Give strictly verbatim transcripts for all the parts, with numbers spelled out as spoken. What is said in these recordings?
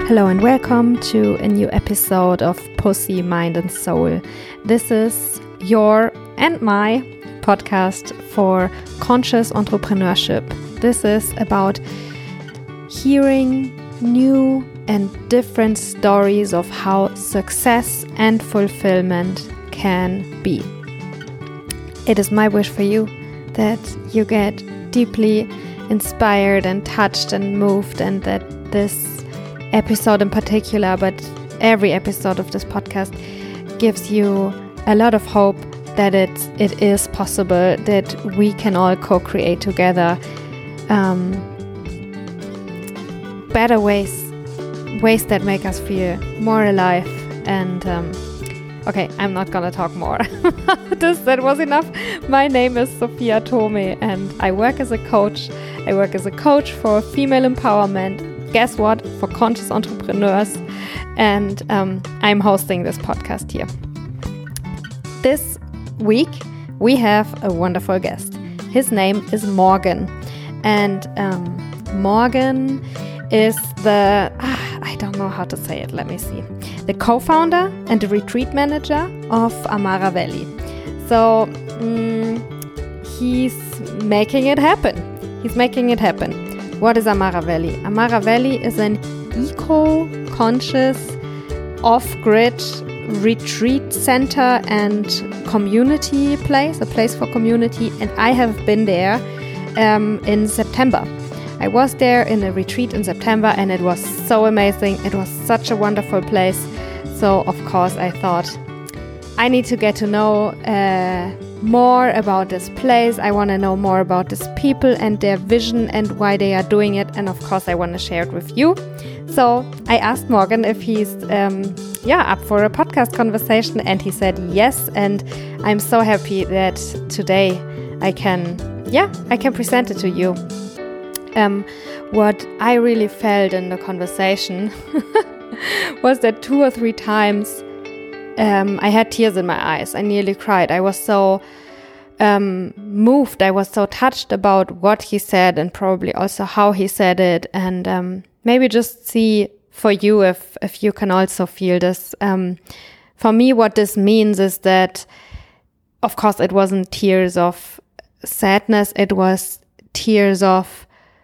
Hello and welcome to a new episode of Pussy, Mind and Soul. This is your and my podcast for conscious entrepreneurship. This is about hearing new and different stories of how success and fulfillment can be. It is my wish for you that you get deeply inspired and touched and moved, and that this episode in particular, but every episode of this podcast gives you a lot of hope that it, it is possible, that we can all co-create together um, better ways, ways that make us feel more alive. And um, okay, I'm not gonna talk more about this, that was enough. My name is Sophia Tome and I work as a coach. I work as a coach for female empowerment. Guess what? For conscious entrepreneurs. And um, I'm hosting this podcast here. This week, we have a wonderful guest. His name is Morgan. And um, Morgan is the, ah, I don't know how to say it, let me see. The co-founder and the retreat manager of Amara Valley. So um, he's making it happen. He's making it happen. What is Amara Valley? Amara Valley is an eco-conscious, off-grid retreat center and community place, a place for community. And I have been there um, in September. I was there in a retreat in September and it was so amazing. It was such a wonderful place. So, of course, I thought I need to get to know uh, more about this place. I want to know more about these people and their vision and why they are doing it. And of course, I want to share it with you. So I asked Morgan if he's um, yeah, up for a podcast conversation, and he said yes. And I'm so happy that today I can, yeah, I can present it to you. Um, what I really felt in the conversation was that two or three times Um, I had tears in my eyes. I nearly cried. I was so um, moved. I was so touched about what he said and probably also how he said it. And um, maybe just see for you if, if you can also feel this. Um, for me, what this means is that, of course, it wasn't tears of sadness. It was tears of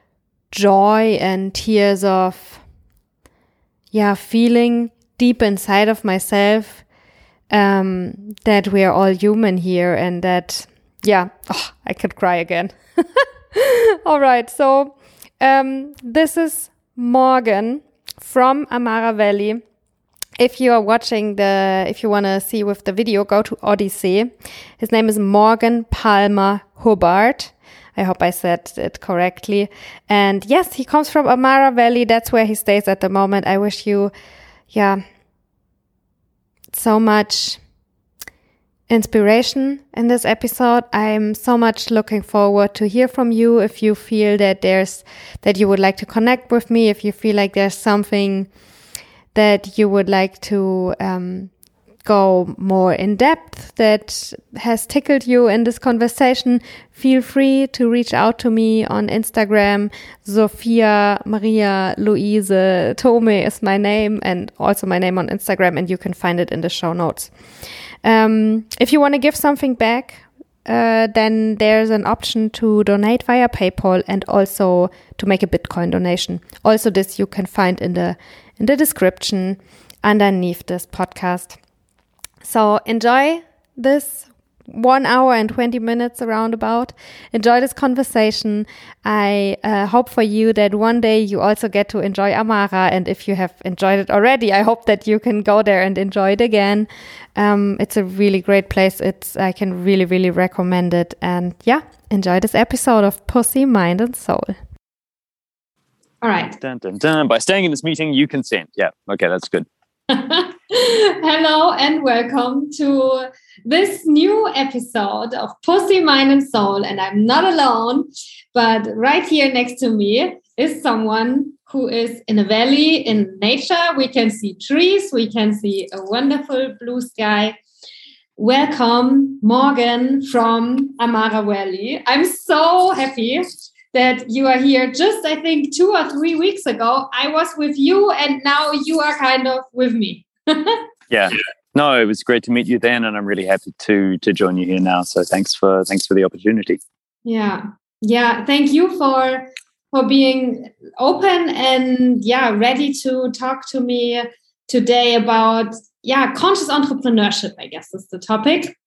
joy and tears of, yeah, feeling deep inside of myself Um, that we are all human here, and that, yeah, oh, I could cry again. All right, so um, this is Morgan from Amara Valley. If you are watching the, if you want to see with the video, go to Odyssey. His name is Morgan Palmer Hubbard. I hope I said it correctly. And yes, he comes from Amara Valley. That's where he stays at the moment. I wish you, yeah, so much inspiration in this episode. I'm so much looking forward to hear from you. If you feel that there's, that you would like to connect with me, if you feel like there's something that you would like to um, go more in depth that has tickled you in this conversation, feel free to reach out to me on Instagram. Sophia Maria Luise Tome is my name, and also my name on Instagram, and you can find it in the show notes. Um, if you want to give something back, uh, then there's an option to donate via PayPal and also to make a Bitcoin donation. Also, this you can find in the in the description underneath this podcast. So enjoy this one hour and twenty minutes around about. Enjoy this conversation. I uh, hope for you that one day you also get to enjoy Amara. And if you have enjoyed it already, I hope that you can go there and enjoy it again. Um, it's a really great place. It's I can really, really recommend it. And yeah, enjoy this episode of Pussy, Mind and Soul. All right. Dun, dun, dun. By staying in this meeting, you consent. Yeah. Okay, that's good. Hello and welcome to this new episode of Pussy, Mind and Soul. And I'm not alone, but right here next to me is someone who is in a valley in nature. We can see trees, we can see a wonderful blue sky. Welcome, Morgan from Amara Valley. I'm so happy that you are here just, I think, two or three weeks ago. I was with you and now you are kind of with me. Yeah. No, it was great to meet you then, and I'm really happy to to join you here now. So thanks for thanks for the opportunity. Yeah. Yeah. Thank you for for being open and yeah, ready to talk to me today about yeah, conscious entrepreneurship, I guess is the topic.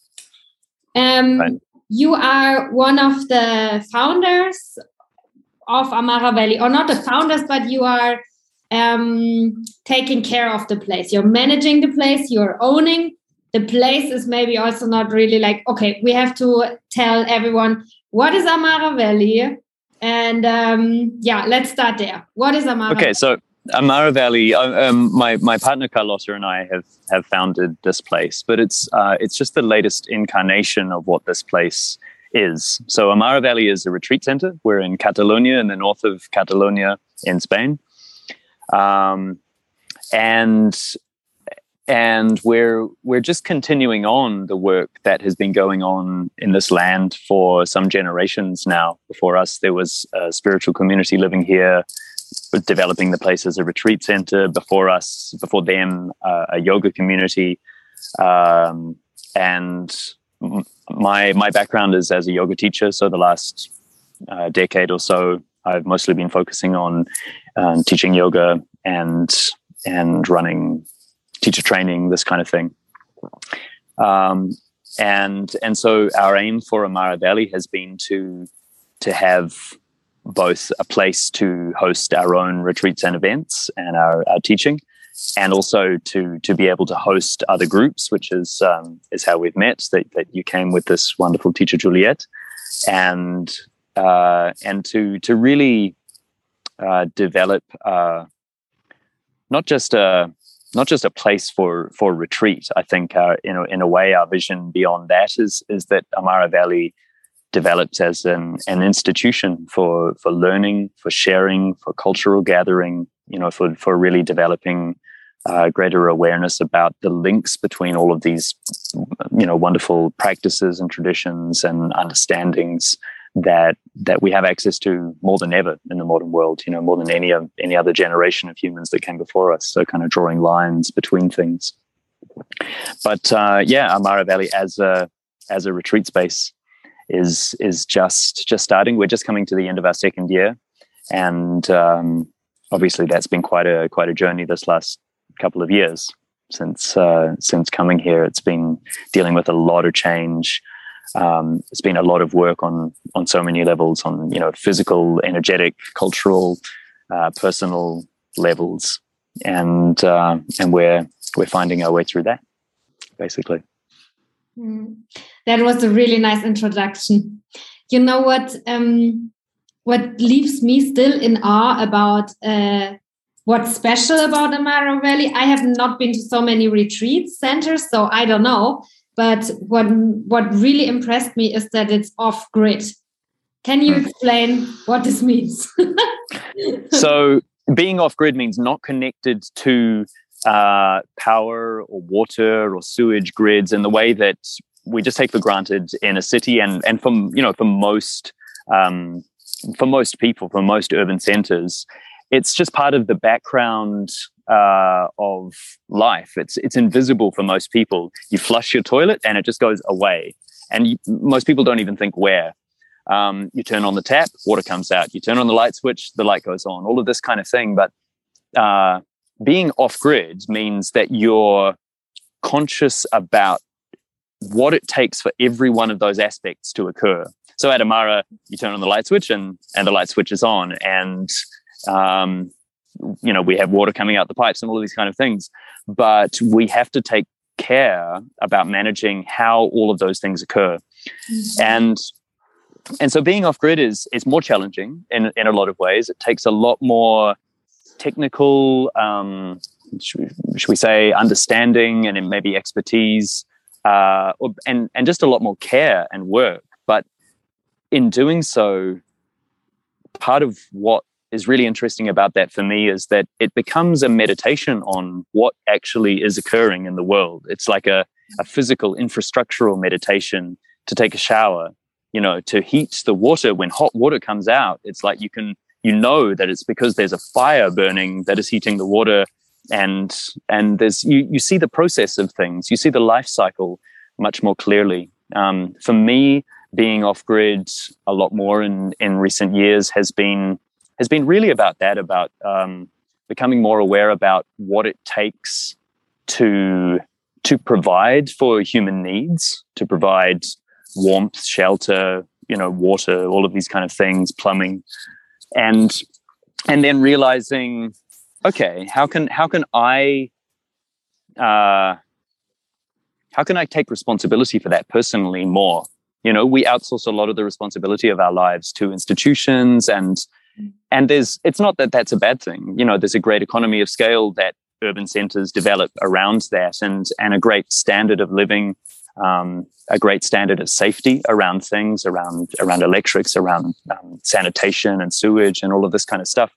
Um right. You are one of the founders of Amara Valley, or not the founders, but you are um, taking care of the place. You're managing the place, you're owning. The place is maybe also not really like, okay, we have to tell everyone, what is Amara Valley? And um, yeah, let's start there. What is Amara Okay, Valley? so Amara Valley, um, my, my partner Carlotta and I have, have founded this place, but it's, uh, it's just the latest incarnation of what this place is. So Amara Valley is a retreat center. We're in Catalonia, in the north of Catalonia in Spain. Um, and and we're we're just continuing on the work that has been going on in this land for some generations now. Before us, there was a spiritual community living here, developing the place as a retreat center. Before us, before them, uh, a yoga community. Um, and my my background is as a yoga teacher. So the last uh, decade or so, I've mostly been focusing on um, teaching yoga and and running teacher training, this kind of thing. Um, and and so our aim for Amara Valley has been to to have both a place to host our own retreats and events and our, our teaching, and also to to be able to host other groups, which is um, is how we've met. That that you came with this wonderful teacher Juliet, and uh, and to to really uh, develop uh, not just a not just a place for for retreat. I think uh, in a, in a way our vision beyond that is is that Amara Valley develops as an an institution for for learning, for sharing, for cultural gathering. You know, for for really developing uh, greater awareness about the links between all of these, you know, wonderful practices and traditions and understandings that that we have access to more than ever in the modern world. You know, more than any of any other generation of humans that came before us. So, kind of drawing lines between things. But uh, yeah, Amara Valley as a as a retreat space is is just just starting. We're just coming to the end of our second year, and um, obviously that's been quite a quite a journey this last couple of years since uh, since coming here. It's been dealing with a lot of change. Um, it's been a lot of work on on so many levels, on you know physical, energetic, cultural, uh, personal levels, and uh, and we're we're finding our way through that, basically. Mm. That was a really nice introduction. You know what? Um, what leaves me still in awe about uh, what's special about Amara Valley? I have not been to so many retreat centers, so I don't know. But what what really impressed me is that it's off grid. Can you explain what this means? So, being off grid means not connected to uh, power or water or sewage grids in the way that we just take for granted in a city, and and from you know for most um, for most people, for most urban centers, it's just part of the background uh, of life. It's it's invisible for most people. You flush your toilet and it just goes away, and you, most people don't even think where. Um, you turn on the tap, water comes out. You turn on the light switch, the light goes on. All of this kind of thing, but uh, being off grid means that you're conscious about what it takes for every one of those aspects to occur. So at Amara, you turn on the light switch and, and the light switch is on. And, um, you know, we have water coming out the pipes and all of these kind of things. But we have to take care about managing how all of those things occur. Mm-hmm. And and so being off-grid is is more challenging in, in a lot of ways. It takes a lot more technical, um, should, we, should we say, understanding and maybe expertise, uh, or, and, and just a lot more care and work. But in doing so, part of what is really interesting about that for me is that it becomes a meditation on what actually is occurring in the world. It's like a, a physical, infrastructural meditation to take a shower, you know, to heat the water. When hot water comes out, it's like you can, you know that it's because there's a fire burning that is heating the water. And and there's you, you see the process of things. You see the life cycle much more clearly. Um, for me, being off-grid a lot more in, in recent years has been has been really about that, about um, becoming more aware about what it takes to to provide for human needs, to provide warmth, shelter, you know, water, all of these kind of things, plumbing, and and then realizing, okay, how can how can I uh, how can I take responsibility for that personally more? You know, we outsource a lot of the responsibility of our lives to institutions, and and there's it's not that that's a bad thing. You know, there's a great economy of scale that urban centers develop around that, and and a great standard of living, um, a great standard of safety around things, around around electrics, around um, sanitation and sewage and all of this kind of stuff.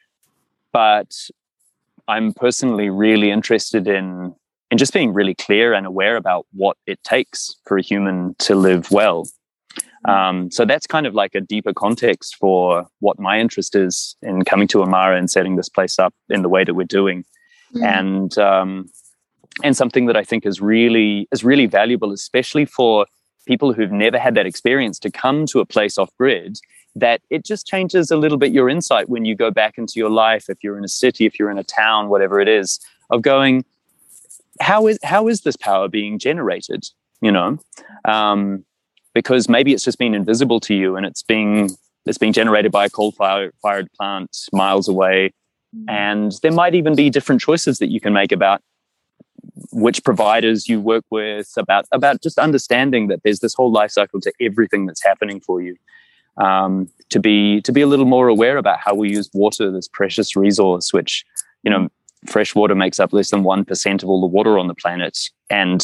But I'm personally really interested in in just being really clear and aware about what it takes for a human to live well. Um, so that's kind of like a deeper context for what my interest is in coming to Amara and setting this place up in the way that we're doing. Mm. And um, and something that I think is really is really valuable, especially for people who've never had that experience, to come to a place off grid, that it just changes a little bit your insight when you go back into your life, if you're in a city, if you're in a town, whatever it is, of going, how is how is this power being generated? You know, um, because maybe it's just been invisible to you, and it's being it's being generated by a coal-fired fired plant miles away, mm. and there might even be different choices that you can make about which providers you work with, about about just understanding that there's this whole life cycle to everything that's happening for you. Um, to be to be a little more aware about how we use water, this precious resource, which, you know, fresh water makes up less than one percent of all the water on the planet. And,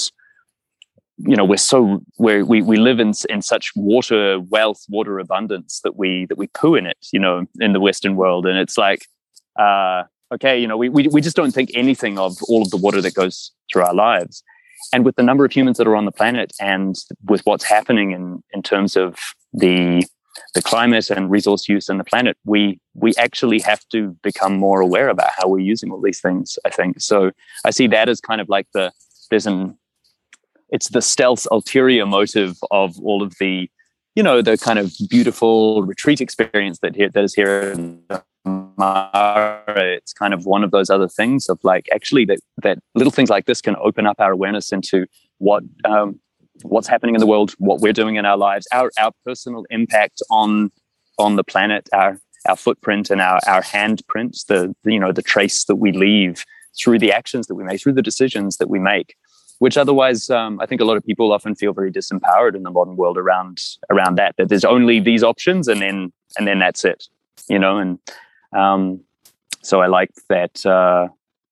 you know, we're so we're, we we live in in such water wealth, water abundance that we that we poo in it, you know, in the Western world. And it's like, uh, okay, you know, we, we we just don't think anything of all of the water that goes through our lives. And with the number of humans that are on the planet, and with what's happening in in terms of the the climate and resource use on the planet, we we actually have to become more aware about how we're using all these things, I think. So I see that as kind of like the, there's an, it's the stealth ulterior motive of all of the, you know, the kind of beautiful retreat experience that here, that is here in Amara. It's kind of one of those other things of like, actually that, that little things like this can open up our awareness into what, um, what's happening in the world, what we're doing in our lives, our our personal impact on on the planet, our our footprint and our our handprints, the, the you know the trace that we leave through the actions that we make, through the decisions that we make, which otherwise um, I think a lot of people often feel very disempowered in the modern world around around that that there's only these options and then and then that's it, you know. And um, so I like that uh,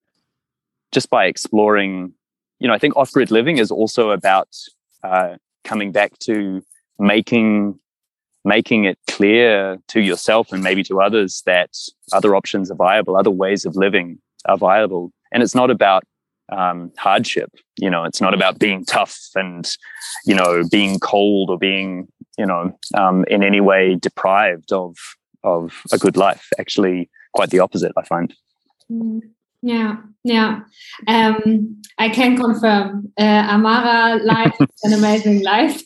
just by exploring, you know, I think off-grid living is also about Uh, coming back to making making it clear to yourself and maybe to others that other options are viable, other ways of living are viable. And it's not about um, hardship, you know, it's not about being tough and, you know, being cold or being, you know, um, in any way deprived of of a good life. Actually, quite the opposite, I find. Mm. Yeah, yeah. Um, I can confirm uh, Amara life is an amazing life.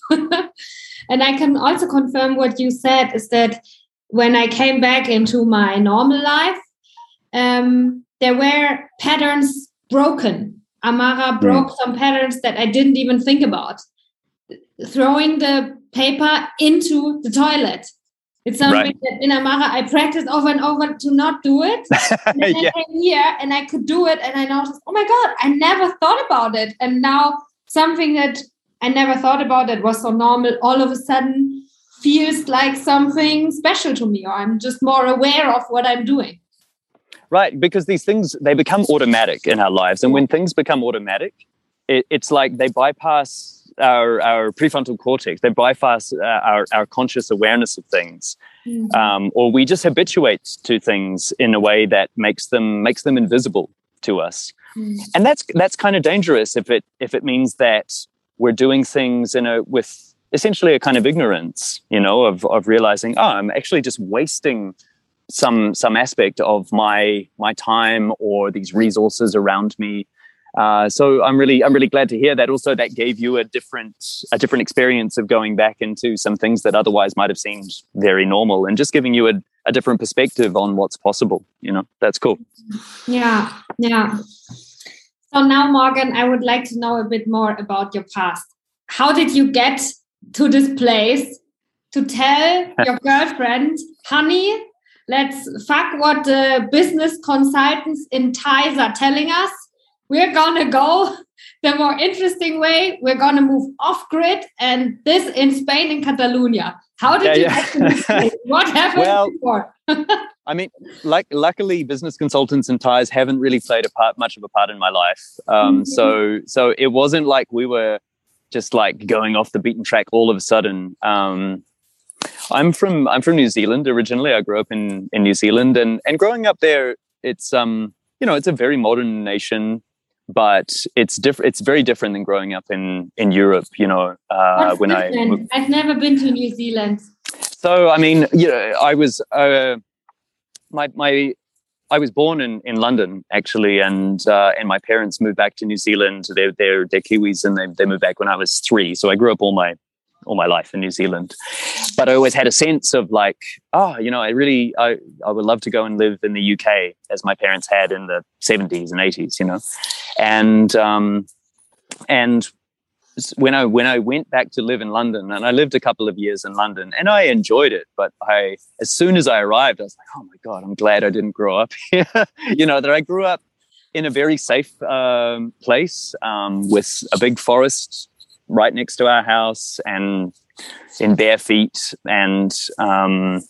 And I can also confirm what you said is that when I came back into my normal life, um, there were patterns broken. Amara broke mm. some patterns that I didn't even think about. Throwing the paper into the toilet. It's something right. that in Amara I practiced over and over to not do it. And then yeah. I came here and I could do it, and I noticed, oh my God, I never thought about it. And now something that I never thought about that was so normal all of a sudden feels like something special to me, or I'm just more aware of what I'm doing. Right, because these things, they become automatic in our lives. And when things become automatic, it, it's like they bypass Our, our prefrontal cortex, they bypass uh, our, our conscious awareness of things, mm-hmm. um, or we just habituate to things in a way that makes them makes them invisible to us, mm-hmm. and that's that's kind of dangerous if it if it means that we're doing things in a with essentially a kind of ignorance, you know, of of realizing, oh, I'm actually just wasting some some aspect of my my time or these resources around me. Uh, so I'm really I'm really glad to hear that. Also, that gave you a different a different experience of going back into some things that otherwise might have seemed very normal, and just giving you a, a different perspective on what's possible. You know, that's cool. Yeah, yeah. So now, Morgan, I would like to know a bit more about your past. How did you get to this place to tell your girlfriend, honey, let's fuck what the business consultants in Thais are telling us? We're going to go the more interesting way. We're going to move off-grid, and this in Spain, in Catalonia. How did yeah, you yeah. get to this place? What happened well, before? I mean, like, luckily, business consultants in Thais haven't really played a part, much of a part in my life. Um, mm-hmm. So so it wasn't like we were just like going off the beaten track all of a sudden. Um, I'm from I'm from New Zealand originally. I grew up in, in New Zealand, and, and growing up there, it's um you know it's a very modern nation. But it's different. It's very different than growing up in, in Europe. You know, uh, when different? I I've never been to New Zealand. So I mean, you know, I was uh, my my I was born in, in London actually, and uh, and my parents moved back to New Zealand. They're they're they're Kiwis, and they they moved back when I was three. So I grew up all my all my life in New Zealand. But I always had a sense of like, oh, you know, I really, I, I would love to go and live in the U K as my parents had in the seventies and eighties, you know. And um, and when I when I went back to live in London, and I lived a couple of years in London, and I enjoyed it. But I, as soon as I arrived, I was like, oh my God, I'm glad I didn't grow up here. You know, that I grew up in a very safe um, place um, with a big forest right next to our house, and in bare feet, and um,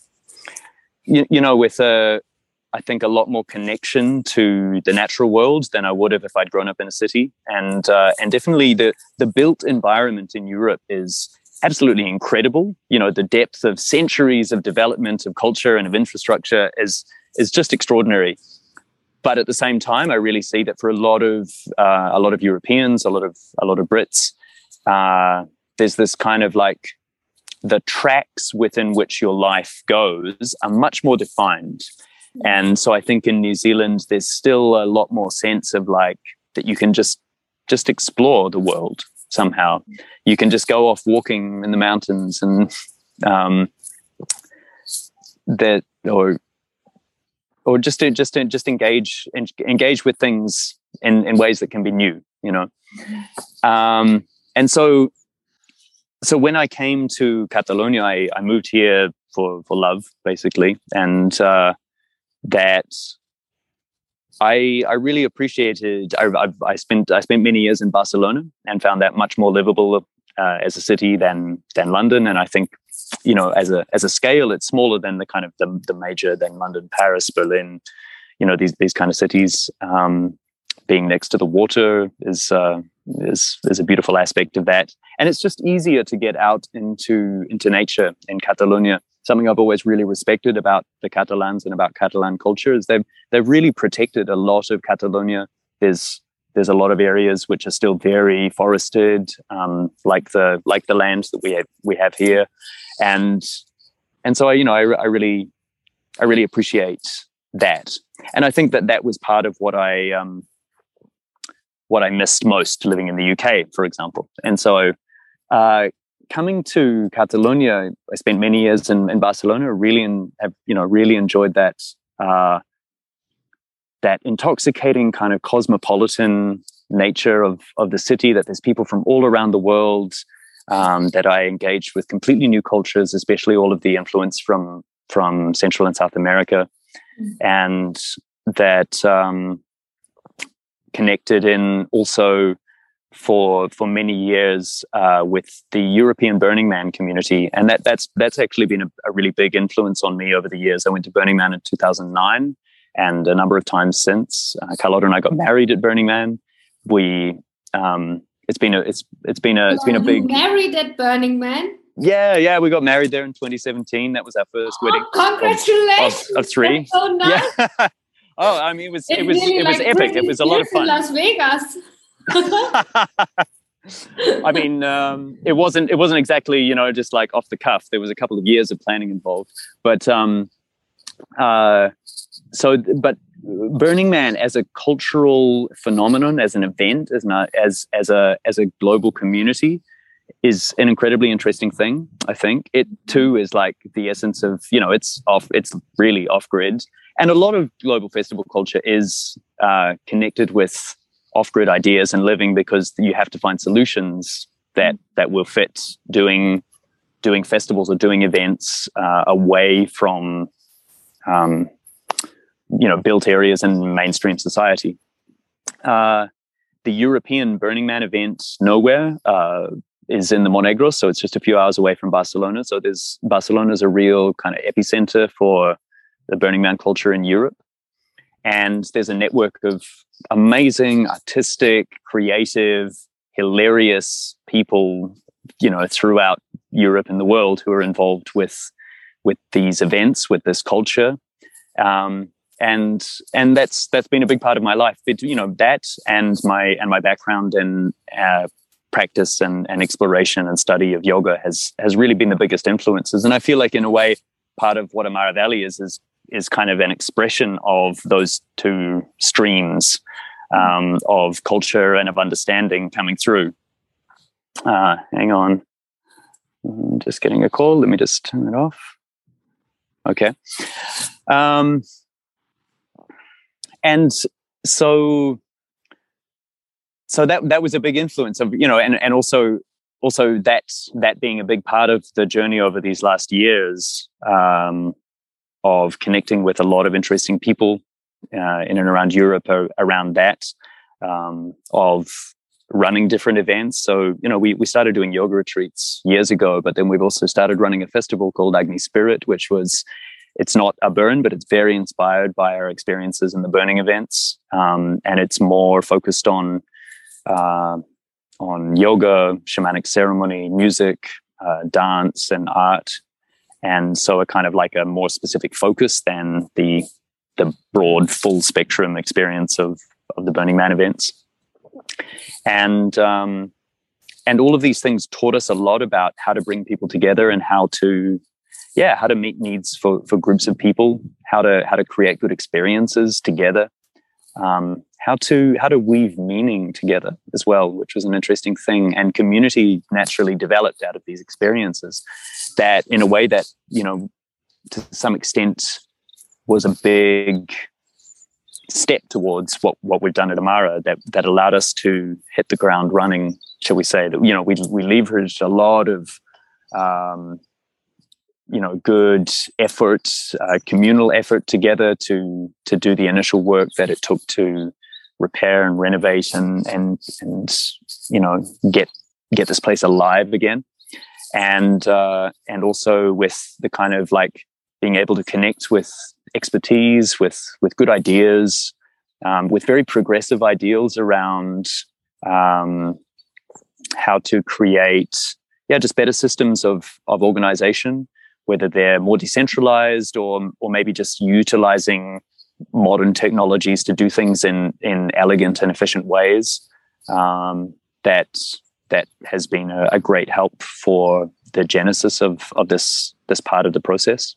you, you know, with a, I think a lot more connection to the natural world than I would have if I'd grown up in a city, and uh, and definitely the the built environment in Europe is absolutely incredible. You know, the depth of centuries of development of culture and of infrastructure is is just extraordinary. But at the same time, I really see that for a lot of uh, a lot of Europeans, a lot of a lot of Brits. Uh, there's this kind of like the tracks within which your life goes are much more defined. And so I think in New Zealand, there's still a lot more sense of like that you can just just explore the world somehow. You can just go off walking in the mountains and um, that or or just to, just to, just engage engage with things in, in ways that can be new, you know. Um, And so, so when I came to Catalonia, I, I moved here for, for love, basically, and uh, that I I really appreciated. I, I I spent I spent many years in Barcelona and found that much more livable uh, as a city than than London. And I think, you know, as a as a scale, it's smaller than the kind of the, the major than London, Paris, Berlin. You know, these these kind of cities. Um, being next to the water is. Uh, Is, is a beautiful aspect of that, and it's just easier to get out into into nature in Catalonia. Something I've always really respected about the Catalans and about Catalan culture is they've they've really protected a lot of Catalonia. There's there's a lot of areas which are still very forested, um, like the like the lands that we have we have here, and and so I you know I, I really I really appreciate that, and I think that that was part of what I. Um, what I missed most living in the U K, for example. And so uh, coming to Catalonia, I spent many years in, in Barcelona, really and have, you know, really enjoyed that, uh, that intoxicating kind of cosmopolitan nature of, of the city, that there's people from all around the world, um, that I engaged with completely new cultures, especially all of the influence from, from Central and South America. Mm. And that, um, connected in also for for many years uh, with the European Burning Man community, and that that's that's actually been a, a really big influence on me over the years. I went to Burning Man in two thousand nine, and a number of times since. Uh, Carlotta and I got married at Burning Man. We um, it's been a it's it's been a it's been a big married at Burning Man. Yeah, yeah, we got married there in twenty seventeen. That was our first oh, wedding. Congratulations! Of, of, of three. That's so nice. Yeah. Oh, I mean, it was it's it was really it was like epic. It was a lot of fun. In Las Vegas. I mean, um, it wasn't it wasn't exactly, you know, just like off the cuff. There was a couple of years of planning involved, but um, uh, so but Burning Man as a cultural phenomenon, as an event, as an, as as a as a global community, is an incredibly interesting thing. I think it too is like the essence of, you know, it's off. It's really off grid, and a lot of global festival culture is uh, connected with off-grid ideas and living, because you have to find solutions that that will fit doing doing festivals or doing events uh, away from um, you know built areas in mainstream society. Uh, the European Burning Man event, Nowhere, uh, is in the Monegros, so it's just a few hours away from Barcelona. So there's Barcelona is a real kind of epicenter for the Burning Man culture in Europe. And there's a network of amazing, artistic, creative, hilarious people, you know, throughout Europe and the world who are involved with with these events, with this culture, um, and and that's that's been a big part of my life. But, you know, that and my and my background in uh, practice and, and exploration and study of yoga has has really been the biggest influences. And I feel like, in a way, part of what Amara Valley is is is kind of an expression of those two streams um, of culture and of understanding coming through. Uh, hang on. I'm just getting a call. Let me just turn it off. Okay. Um, and so, so that, that was a big influence of, you know, and, and also, also that, that being a big part of the journey over these last years, um, of connecting with a lot of interesting people uh, in and around Europe or around that, um, of running different events. So, you know, we, we started doing yoga retreats years ago, but then we've also started running a festival called Agni Spirit, which was, it's not a burn, but it's very inspired by our experiences in the burning events. Um, and it's more focused on, uh, on yoga, shamanic ceremony, music, uh, dance, and art. And so a kind of like a more specific focus than the the broad full spectrum experience of, of the Burning Man events. And um, and all of these things taught us a lot about how to bring people together and how to, yeah, how to meet needs for, for groups of people, how to how to create good experiences together, um, how to how to weave meaning together as well, which was an interesting thing. And community naturally developed out of these experiences, that in a way that, you know, to some extent was a big step towards what, what we've done at Amara, that, that allowed us to hit the ground running, shall we say. That, you know, we, we leveraged a lot of, um, you know, good effort, uh, communal effort together to, to do the initial work that it took to repair and renovate and, and, and, you know, get, get this place alive again. And uh, and also with the kind of like being able to connect with expertise, with with good ideas, um, with very progressive ideals around um, how to create, yeah, just better systems of of organization, whether they're more decentralized or or maybe just utilizing modern technologies to do things in in elegant and efficient ways. Um, that. that has been a, a great help for the genesis of, of this, this part of the process.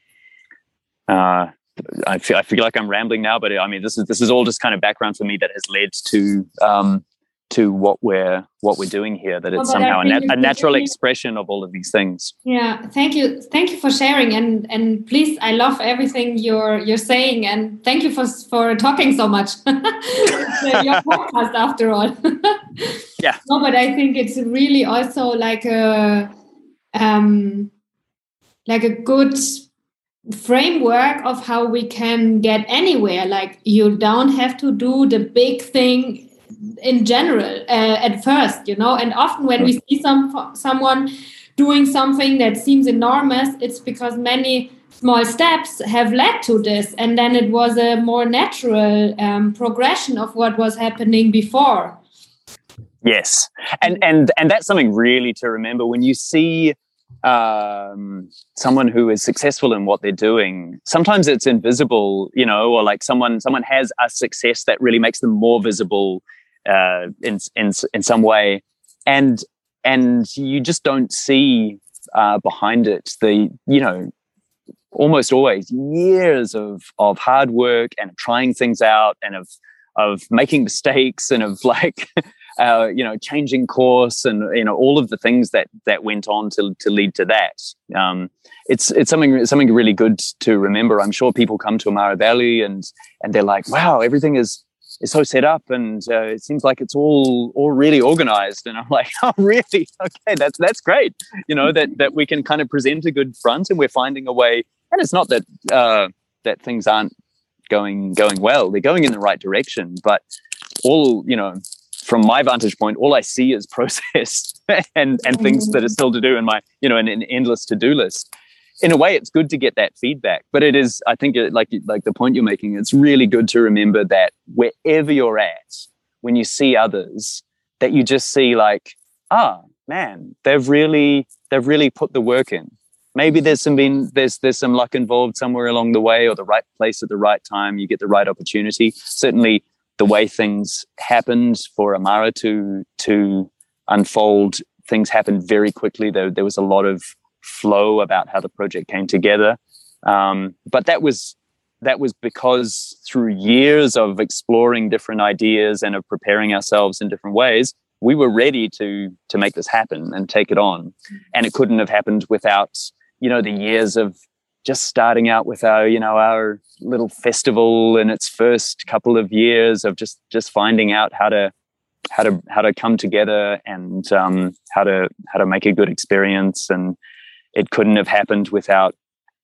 Uh, I feel, I feel like I'm rambling now, but I mean, this is, this is all just kind of background for me that has led to, um, to what we're, what we're doing here, that it's oh, somehow a, nat- a natural really, expression of all of these things. Yeah. Thank you. Thank you for sharing. And, and please, I love everything you're, you're saying. And thank you for, for talking so much. Your podcast after all. Yeah. No, but I think it's really also like a, um, like a good framework of how we can get anywhere. Like you don't have to do the big thing in general uh, at first, you know, and often when we see some someone doing something that seems enormous, it's because many small steps have led to this, and then it was a more natural um, progression of what was happening before. Yes, and and and that's something really to remember when you see um, someone who is successful in what they're doing. Sometimes it's invisible, you know, or like someone someone has a success that really makes them more visible uh, in in in some way. and and you just don't see uh, behind it the, you know, almost always years of of hard work and trying things out and of of making mistakes and of like uh, you know, changing course and, you know, all of the things that that went on to to lead to that. Um, it's it's something something really good to remember. I'm sure people come to Amara Valley and and they're like, wow, everything is is so set up and uh, it seems like it's all all really organized. And I'm like, oh, really? Okay, that's that's great. You know, that that we can kind of present a good front and we're finding a way. And it's not that uh, that things aren't going going well; they're going in the right direction. But all, you know, from my vantage point, all I see is process and and things that are still to do in my, you know, an, an endless to do list. In a way, it's good to get that feedback, but it is, I think, it, like like the point you're making, it's really good to remember that wherever you're at, when you see others, that you just see like, ah, man, they've really they've really put the work in. Maybe there's some been there's there's some luck involved somewhere along the way, or the right place at the right time. You get the right opportunity. Certainly, the way things happened for Amara to to unfold, things happened very quickly. There there was a lot of flow about how the project came together, um, but that was that was because through years of exploring different ideas and of preparing ourselves in different ways, we were ready to to make this happen and take it on. And it couldn't have happened without, you know, the years of just starting out with our, you know, our little festival in its first couple of years of just just finding out how to how to how to come together and um, how to how to make a good experience. And it couldn't have happened without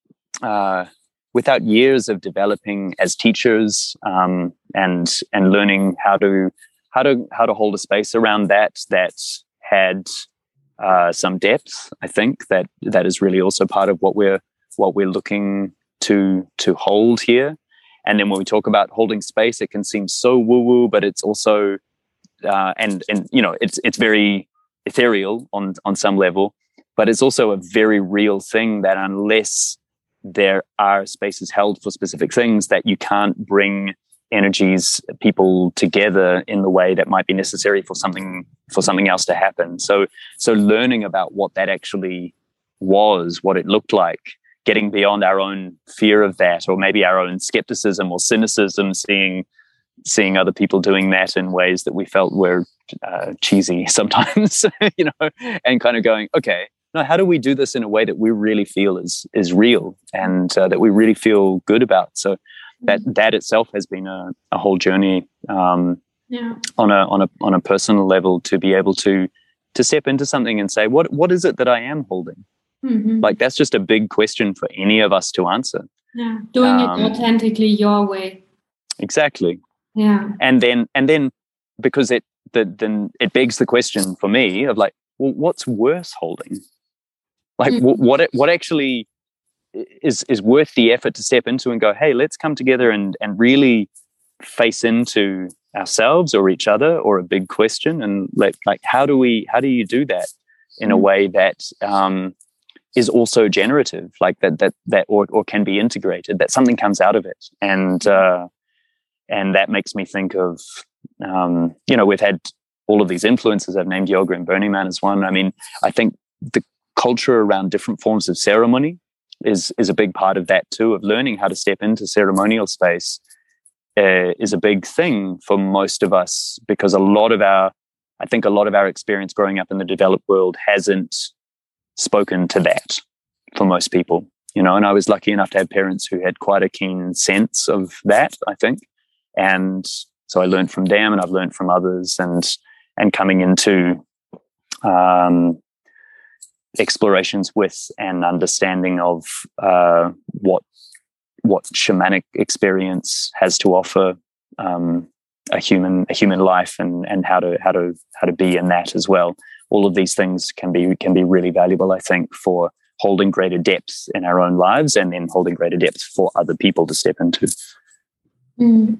uh, without years of developing as teachers um, and and learning how to how to how to hold a space around that that had uh, some depth. I think that that is really also part of what we're what we're looking to to hold here. And then when we talk about holding space, it can seem so woo-woo, but it's also uh, and and you know it's it's very ethereal on on some level, but it's also a very real thing that unless there are spaces held for specific things, that you can't bring energies, people together in the way that might be necessary for something for something else to happen. So so learning about what that actually was, what it looked like, getting beyond our own fear of that, or maybe our own skepticism or cynicism, seeing seeing other people doing that in ways that we felt were uh, cheesy sometimes, you know, and kind of going, okay, now how do we do this in a way that we really feel is is real and uh, that we really feel good about? So that that itself has been a, a whole journey um, yeah. on a on a on a personal level, to be able to to step into something and say, what what is it that I am holding? Mm-hmm. Like that's just a big question for any of us to answer. Yeah, doing um, it authentically your way. Exactly. Yeah, and then and then because it the, then it begs the question for me of like, well, what's worth holding? Like mm-hmm. what what it, what actually is is worth the effort to step into and go, hey, let's come together and and really face into ourselves or each other or a big question, and let like how do we how do you do that in mm-hmm. a way that um is also generative, like that that that or or can be integrated, that something comes out of it. And uh and that makes me think of um you know, we've had all of these influences. I've named yoga and Burning Man as one. I mean, I think the culture around different forms of ceremony is is a big part of that too, of learning how to step into ceremonial space uh, is a big thing for most of us, because a lot of our I think a lot of our experience growing up in the developed world hasn't spoken to that for most people, you know. And I was lucky enough to have parents who had quite a keen sense of that, I think, and so I learned from them, and I've learned from others, and and coming into um explorations with an understanding of uh, what what shamanic experience has to offer um, a human a human life, and and how to how to how to be in that as well. All of these things can be can be really valuable, I think, for holding greater depth in our own lives, and then holding greater depth for other people to step into. Mm.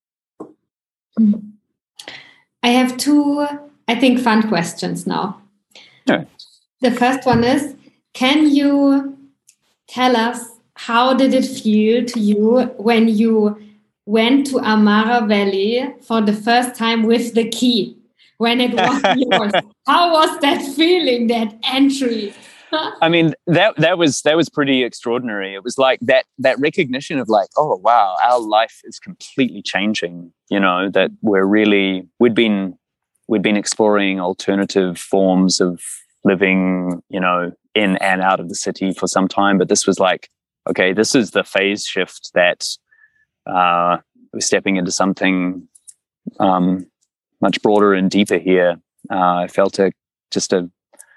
Mm. I have two, I think, fun questions now. Yeah. The first one is, can you tell us how did it feel to you when you went to Amara Valley for the first time with the key? when it was yours. How was that feeling, that entry? I mean, that that was that was pretty extraordinary. It was like that that recognition of like, oh wow, our life is completely changing. You know, that we're really we'd been we'd been exploring alternative forms of living, you know, in and out of the city for some time, but this was like, okay, this is the phase shift that uh, we're stepping into something um, much broader and deeper here. Uh, I felt a just a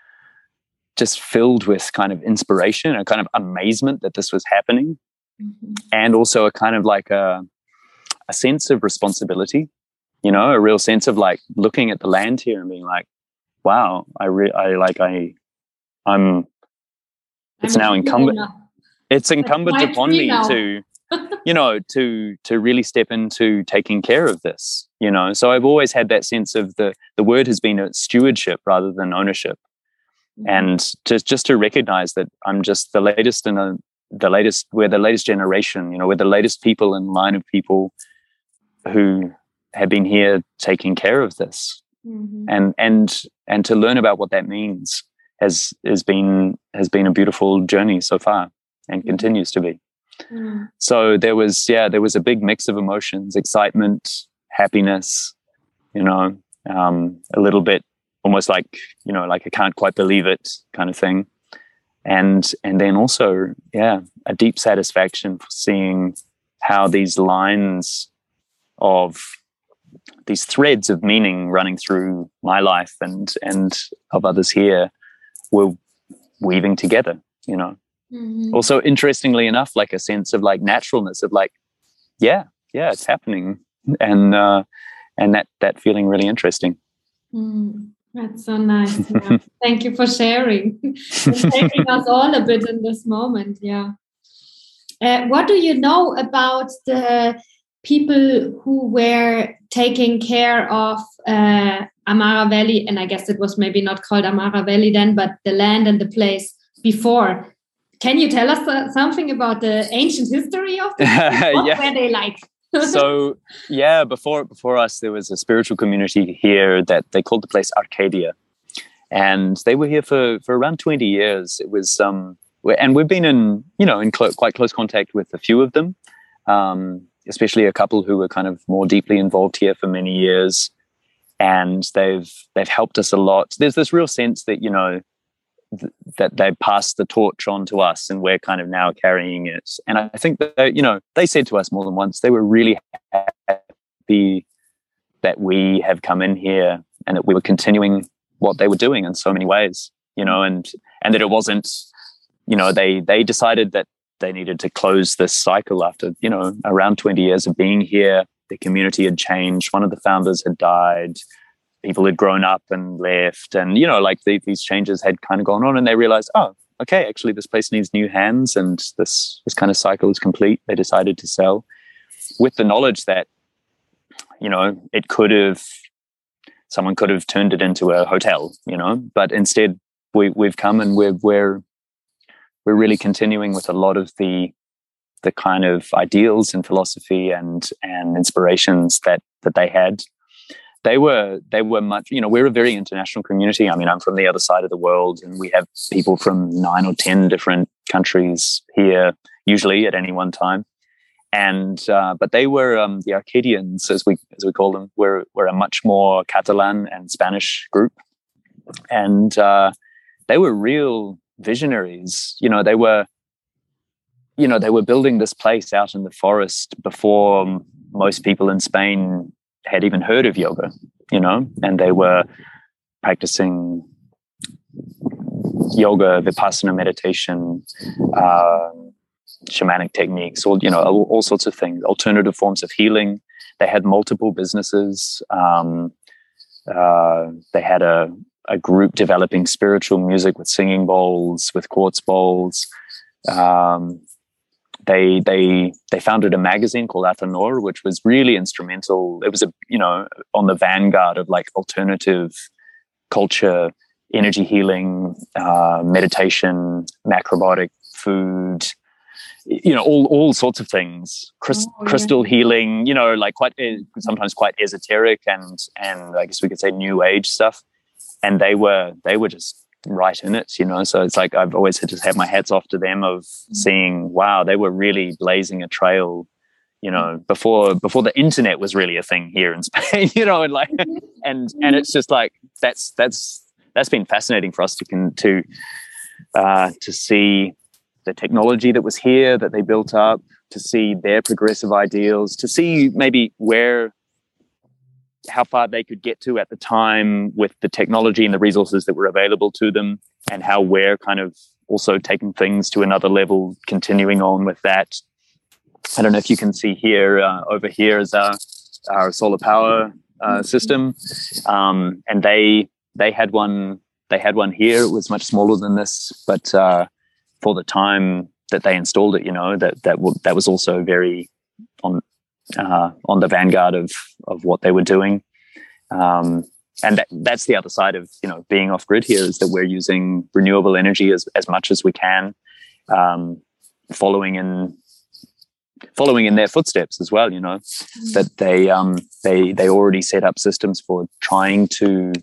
just filled with kind of inspiration, a kind of amazement that this was happening, mm-hmm. and also a kind of like a, a sense of responsibility, you know, a real sense of like looking at the land here and being like, wow, I, re- I like, I, I'm, it's I'm now incumbent, it's incumbent upon me now. to, you know, to, to really step into taking care of this, you know. So I've always had that sense of the, the word has been a stewardship rather than ownership. And just just to recognize that I'm just the latest in a the latest we're the latest generation, you know, we're the latest people in line of people who have been here taking care of this, mm-hmm. and and and to learn about what that means has has been has been a beautiful journey so far, and mm-hmm. continues to be. Mm-hmm. So there was yeah there was a big mix of emotions: excitement, happiness, you know, um, a little bit. Almost like, you know, like I can't quite believe it kind of thing. And and then also, yeah, a deep satisfaction for seeing how these lines of these threads of meaning running through my life and and of others here were weaving together, you know. Mm-hmm. Also, interestingly enough, like a sense of like naturalness of like, yeah, yeah, it's happening. And uh, and that that feeling really interesting. Mm. That's so nice. Yeah. Thank you for sharing and taking us all a bit in this moment. Yeah. Uh, what do you know about the people who were taking care of uh, Amara Valley? And I guess it was maybe not called Amara Valley then, but the land and the place before. Can you tell us uh, something about the ancient history of this? What yeah. were they like? So yeah, before before us, there was a spiritual community here that they called the place Arcadia, and they were here for for around twenty years. It was um, and we've been in you know in clo- quite close contact with a few of them, um, especially a couple who were kind of more deeply involved here for many years, and they've they've helped us a lot. There's this real sense that you know. that they passed the torch on to us and we're kind of now carrying it. And I think that, you know, they said to us more than once, they were really happy that we have come in here and that we were continuing what they were doing in so many ways, you know, and, and that it wasn't, you know, they, they decided that they needed to close this cycle after, you know, around twenty years of being here. The community had changed. One of the founders had died. People had grown up and left, and you know, like the, these changes had kind of gone on, and they realized, oh, okay, actually, this place needs new hands, and this this kind of cycle is complete. They decided to sell, with the knowledge that, you know, it could have, someone could have turned it into a hotel, you know, but instead, we we've come and we're we're we're really continuing with a lot of the the kind of ideals and philosophy and and inspirations that that they had. They were, they were much, you know, we're a very international community. I mean, I'm from the other side of the world and we have people from nine or ten different countries here, usually at any one time. And, uh, but they were, um, the Arcadians, as we, as we call them, were, were a much more Catalan and Spanish group. And, uh, they were real visionaries. You know, they were, you know, they were building this place out in the forest before most people in Spain had even heard of yoga, you know, and they were practicing yoga, vipassana meditation, uh, shamanic techniques, or, you know, all, all sorts of things, alternative forms of healing. They had multiple businesses. Um, uh, they had a, a group developing spiritual music with singing bowls, with quartz bowls. Um, They they they founded a magazine called Athanor, which was really instrumental. It was a you know on the vanguard of like alternative culture, energy healing, uh, meditation, macrobiotic food, you know, all all sorts of things, Christ, oh, crystal yeah. healing, you know, like quite sometimes quite esoteric and and I guess we could say new age stuff. And they were they were just right in it, you know. So it's like I've always had to have my hats off to them of seeing, wow, they were really blazing a trail, you know, before before the internet was really a thing here in Spain, you know, and like and and it's just like that's that's that's been fascinating for us to can to uh, to see the technology that was here that they built up, to see their progressive ideals, to see maybe where, how far they could get to at the time with the technology and the resources that were available to them, and how we're kind of also taking things to another level, continuing on with that. I don't know if you can see here, uh, over here is our, our solar power uh, system. Um, and they, they had one, they had one here. It was much smaller than this, but, uh, for the time that they installed it, you know, that that w- that was also very on uh, on the vanguard of of what they were doing, um, and that, that's the other side of, you know, being off grid here, is that we're using renewable energy as as much as we can, um, following in following in their footsteps as well. You know, mm-hmm. that they um, they they already set up systems for trying to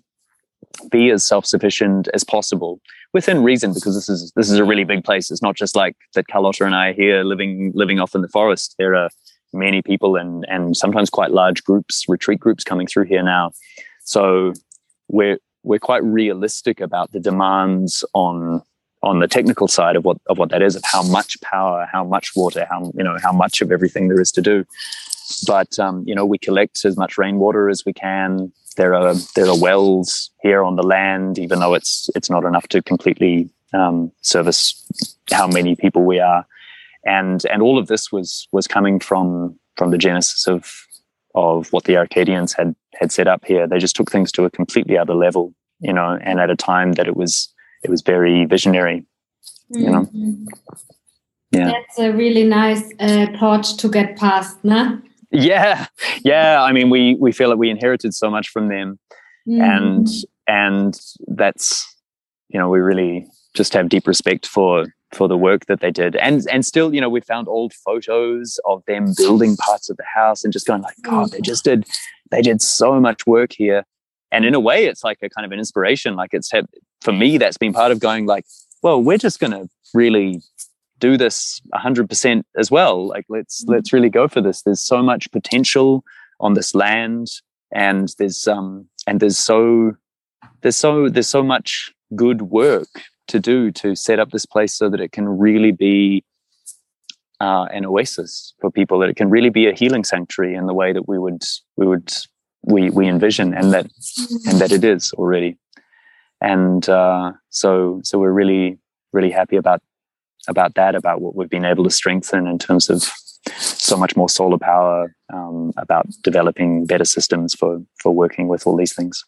be as self-sufficient as possible within reason, because this is this is a really big place. It's not just like that Carlotta and I are here living living off in the forest. There are many people and and sometimes quite large groups, retreat groups coming through here now. So we're we're quite realistic about the demands on on the technical side of what of what that is, of how much power, how much water, how you know how much of everything there is to do. But um, you know, we collect as much rainwater as we can. There are there are wells here on the land, even though it's it's not enough to completely um, service how many people we are, and and all of this was was coming from from the genesis of of what the Arcadians had had set up here. They just took things to a completely other level, you know, and at a time that it was it was very visionary, you know. Mm-hmm. Yeah, that's a really nice uh, torch to get past, nah? Yeah, yeah. I mean, we we feel that we inherited so much from them, mm. and and that's, you know, we really just have deep respect for for the work that they did, and and still, you know, we found old photos of them building parts of the house and just going like, God, they just did they did so much work here, and in a way, it's like a kind of an inspiration. Like it's had, for me, that's been part of going like, well, we're just going to really do this one hundred percent as well. Like let's mm-hmm. let's really go for this. There's so much potential on this land, and there's um and there's so there's so there's so much good work to do to set up this place so that it can really be uh, an oasis for people, that it can really be a healing sanctuary in the way that we would we would we we envision, and that mm-hmm. and that it is already. And uh, so so we're really really happy about about that, about what we've been able to strengthen in terms of so much more solar power, um, about developing better systems for, for working with all these things.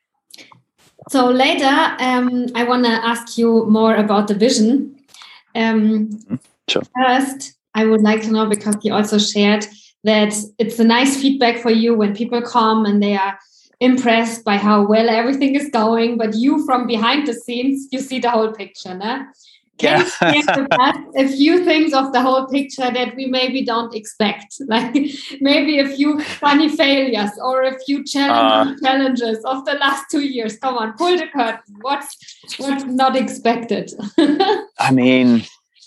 So later, um, I want to ask you more about the vision. Um, sure. First, I would like to know, because you also shared that it's a nice feedback for you when people come and they are impressed by how well everything is going, but you from behind the scenes, you see the whole picture, no? Can you share with us a few things of the whole picture that we maybe don't expect? Like maybe a few funny failures or a few challenging uh, challenges of the last two years. Come on, pull the curtain. What's what's not expected? I mean,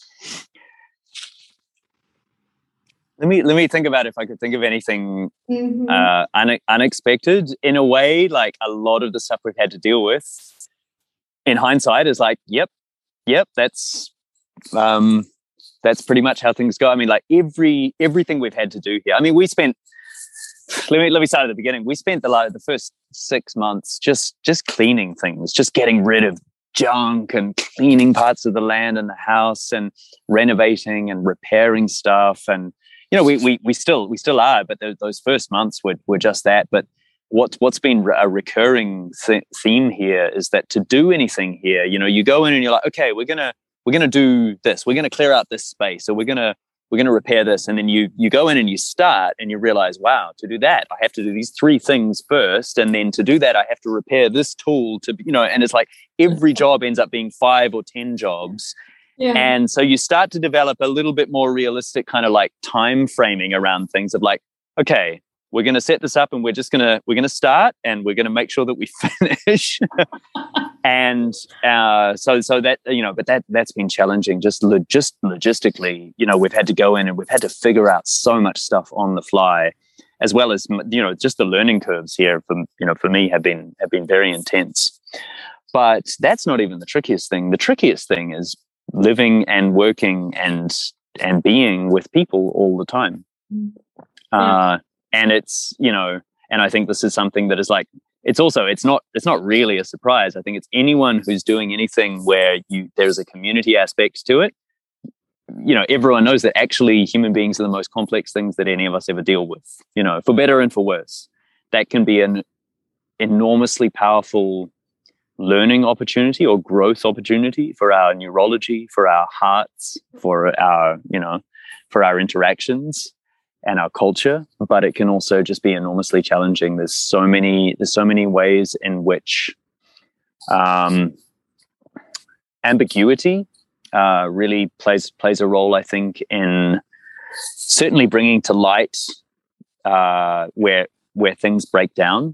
let me let me think about if I could think of anything mm-hmm. uh, une- unexpected. In a way, like a lot of the stuff we've had to deal with, in hindsight, is like, yep. Yep, that's um, that's pretty much how things go. I mean, like every everything we've had to do here. I mean, we spent. Let me let me start at the beginning. We spent the like the first six months just just cleaning things, just getting rid of junk and cleaning parts of the land and the house and renovating and repairing stuff. And you know, we we we still we still are, but those, those first months were were just that. But What, what's been a recurring th- theme here is that to do anything here, you know, you go in and you're like, okay, we're gonna we're gonna do this, we're gonna clear out this space, or we're gonna we're gonna repair this, and then you you go in and you start and you realize, wow, to do that, I have to do these three things first, and then to do that, I have to repair this tool to, you know, and it's like every job ends up being five or ten jobs, Yeah. And so you start to develop a little bit more realistic kind of like time framing around things of like, okay, we're going to set this up and we're just going to, we're going to start and we're going to make sure that we finish. and uh, so, so that, you know, but that, that's been challenging just, lo- just logistically, you know, we've had to go in and we've had to figure out so much stuff on the fly, as well as, you know, just the learning curves here for, you know, for me have been, have been very intense. But that's not even the trickiest thing. The trickiest thing is living and working and and being with people all the time. Yeah. Uh, and it's, you know, and I think this is something that is like, it's also, it's not, it's not really a surprise. I think it's anyone who's doing anything where you, there's a community aspect to it. You know, everyone knows that actually human beings are the most complex things that any of us ever deal with, you know, for better and for worse. That can be an enormously powerful learning opportunity or growth opportunity for our neurology, for our hearts, for our, you know, for our interactions and our culture. But it can also just be enormously challenging. There's so many, there's so many ways in which um, ambiguity uh, really plays plays a role, I think, in certainly bringing to light uh, where where things break down.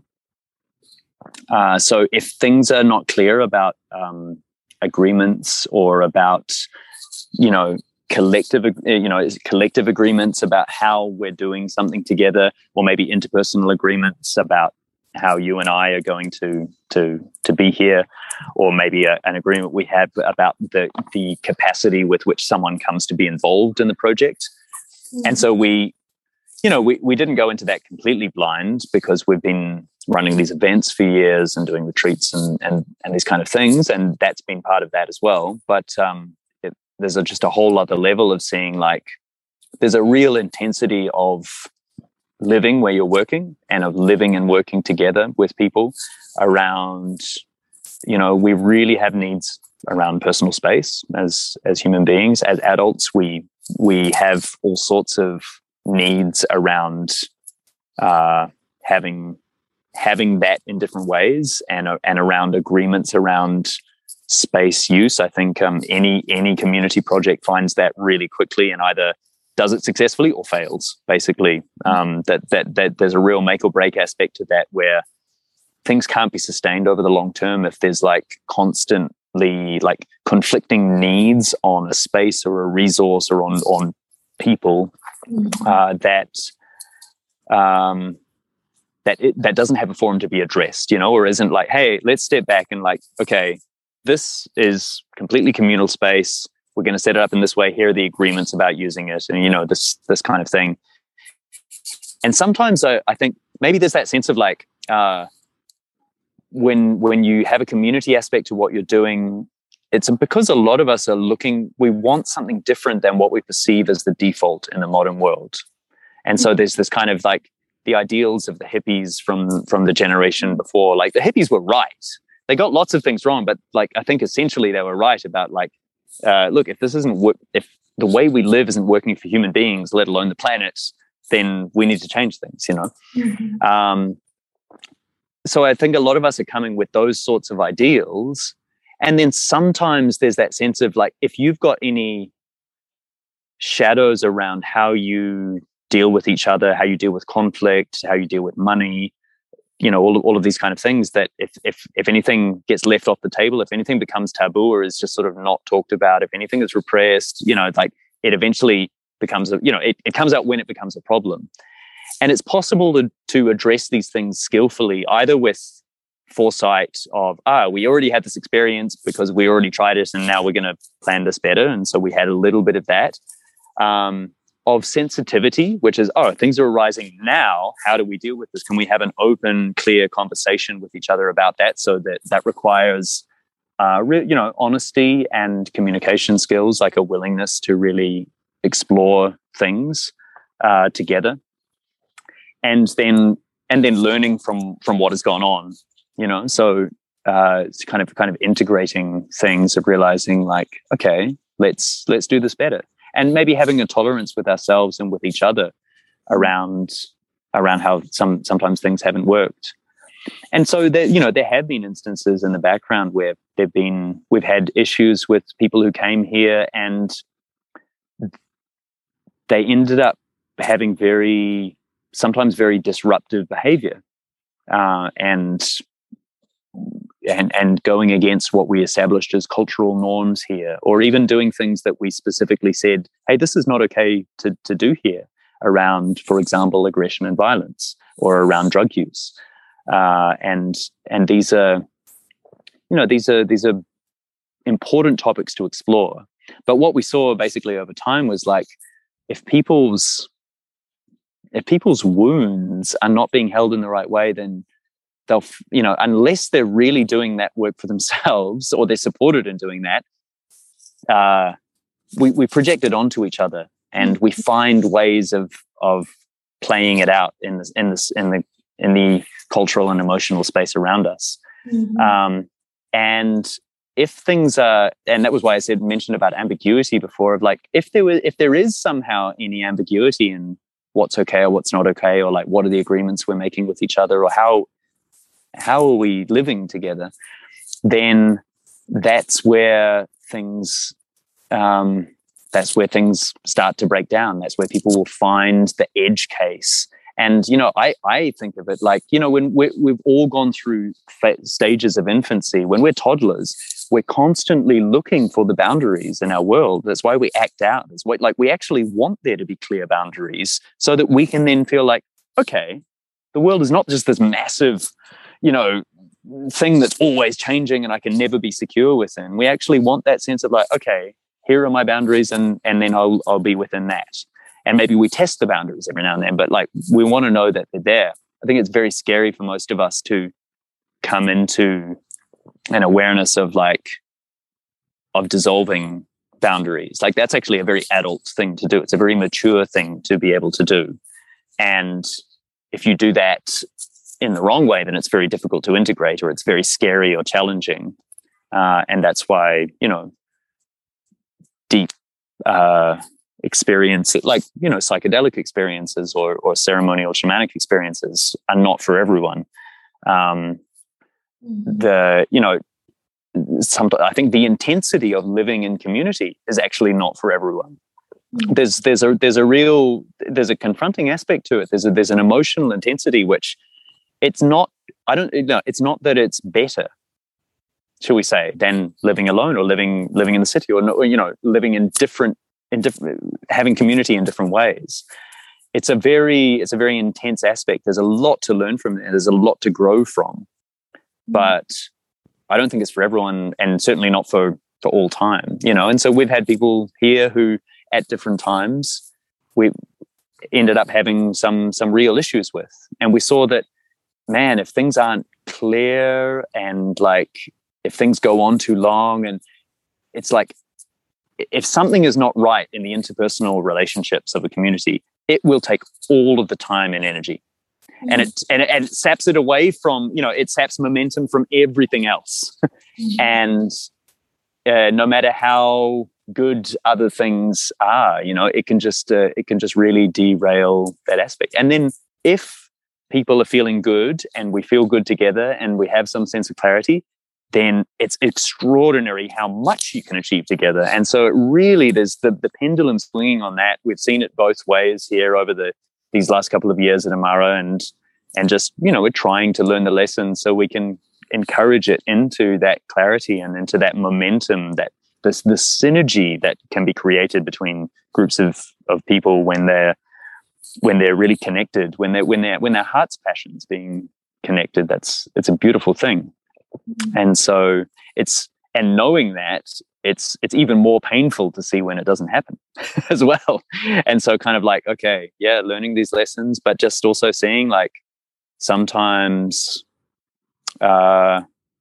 Uh, so if things are not clear about um, agreements or about, you know, collective, you know, collective agreements about how we're doing something together, or maybe interpersonal agreements about how you and I are going to to to be here, or maybe a, an agreement we have about the the capacity with which someone comes to be involved in the project. Mm-hmm. And so we, you know, we, we didn't go into that completely blind, because we've been running these events for years and doing retreats and and, and these kind of things. And that's been part of that as well. But um, it, there's a, just a whole other level of seeing, like, there's a real intensity of living where you're working and of living and working together with people around, you know, we really have needs around personal space as, as human beings. As adults, we, we have all sorts of needs around uh, having having that in different ways, and uh, and around agreements around space use. I think um, any any community project finds that really quickly and either does it successfully or fails. Basically, um, that that that there's a real make or break aspect to that, where things can't be sustained over the long term if there's like constantly like conflicting needs on a space or a resource or on on people uh, that. Um, that it, that doesn't have a forum to be addressed, you know, or isn't like, hey, let's step back and like, okay, this is completely communal space. We're going to set it up in this way. Here are the agreements about using it, and, you know, this this kind of thing. And sometimes I, I think maybe there's that sense of like, uh, when when you have a community aspect to what you're doing, it's because a lot of us are looking, we want something different than what we perceive as the default in the modern world. And so there's this kind of like, the ideals of the hippies from from the generation before. Like, the hippies were right. They got lots of things wrong, but like, I think essentially they were right about like, uh, look, if this isn't wo- if the way we live isn't working for human beings, let alone the planet, then we need to change things, you know? Mm-hmm. Um, so I think a lot of us are coming with those sorts of ideals. And then sometimes there's that sense of like, if you've got any shadows around how you deal with each other, how you deal with conflict, how you deal with money, you know, all of, all of these kind of things, that if if if anything gets left off the table, if anything becomes taboo or is just sort of not talked about, if anything is repressed, you know, like it eventually becomes a, you know, it, it comes out when it becomes a problem. And it's possible to to address these things skillfully, either with foresight of, ah, we already had this experience because we already tried it and now we're going to plan this better. And so we had a little bit of that. Um, of sensitivity, which is, oh, things are arising now. How do we deal with this? Can we have an open, clear conversation with each other about that? So that that requires, uh, re- you know, honesty and communication skills, like a willingness to really explore things uh, together, and then and then learning from from what has gone on. You know, so uh, it's kind of kind of integrating things, of realizing like, okay, let's let's do this better. And maybe having a tolerance with ourselves and with each other around around how some sometimes things haven't worked. And so there, you know, there have been instances in the background where there've been we've had issues with people who came here, and they ended up having very sometimes very disruptive behavior, uh, and and and going against what we established as cultural norms here, or even doing things that we specifically said, hey, this is not okay to to do here, around, for example, aggression and violence, or around drug use. Uh, and and these are, you know, these are these are important topics to explore. But what we saw basically over time was, like, if people's if people's wounds are not being held in the right way, then they'll, you know, unless they're really doing that work for themselves, or they're supported in doing that, uh, we we project it onto each other, and we find ways of of playing it out in this in this in the in the cultural and emotional space around us. Mm-hmm. Um, and if things are, and that was why I said mentioned about ambiguity before, of like, if there was, if there is somehow any ambiguity in what's okay or what's not okay, or like what are the agreements we're making with each other, or how how are we living together, then that's where things um, that's where things start to break down. That's where people will find the edge case. And, you know, I, I think of it like, you know, when we're, we've all gone through fa- stages of infancy, when we're toddlers, we're constantly looking for the boundaries in our world. That's why we act out. It's what, like, we actually want there to be clear boundaries, so that we can then feel like, okay, the world is not just this massive, you know, thing that's always changing and I can never be secure within. We actually want that sense of like, okay, here are my boundaries, and and then I'll I'll be within that. And maybe we test the boundaries every now and then, but like, we want to know that they're there. I think it's very scary for most of us to come into an awareness of like, of dissolving boundaries. Like, that's actually a very adult thing to do. It's a very mature thing to be able to do. And if you do that in the wrong way, then it's very difficult to integrate, or it's very scary or challenging. Uh, and that's why, you know, deep, uh, experience, like, you know, psychedelic experiences or or ceremonial shamanic experiences are not for everyone. Um, the, you know, some, I think the intensity of living in community is actually not for everyone. There's there's a there's a real there's a confronting aspect to it. There's a, there's an emotional intensity which it's not. I don't know. It's not that it's better, shall we say, than living alone or living living in the city, or, or you know, living in different. In different, having community in different ways. It's a very, it's a very intense aspect. There's a lot to learn from it. There's a lot to grow from, but I don't think it's for everyone, and certainly not for, for all time, you know? And so we've had people here who at different times we ended up having some, some real issues with. And we saw that, man, if things aren't clear, and like, if things go on too long, and it's like, if something is not right in the interpersonal relationships of a community, it will take all of the time and energy. Mm-hmm. And it and it, and it saps it away from, you know, it saps momentum from everything else. Mm-hmm. And uh, no matter how good other things are, you know, it can just uh, it can just really derail that aspect. And then if people are feeling good, and we feel good together, and we have some sense of clarity, then it's extraordinary how much you can achieve together. And so it really, there's the, the pendulum swinging on that. We've seen it both ways here over the these last couple of years at Amara, and and just, you know, we're trying to learn the lessons so we can encourage it into that clarity and into that momentum, that this the synergy that can be created between groups of of people when they're when they're really connected, when they're when they're when their heart's passions being connected. That's it's a beautiful thing. And so it's, and knowing that, it's it's even more painful to see when it doesn't happen as well. And so kind of like, okay, yeah, learning these lessons, but just also seeing like sometimes uh,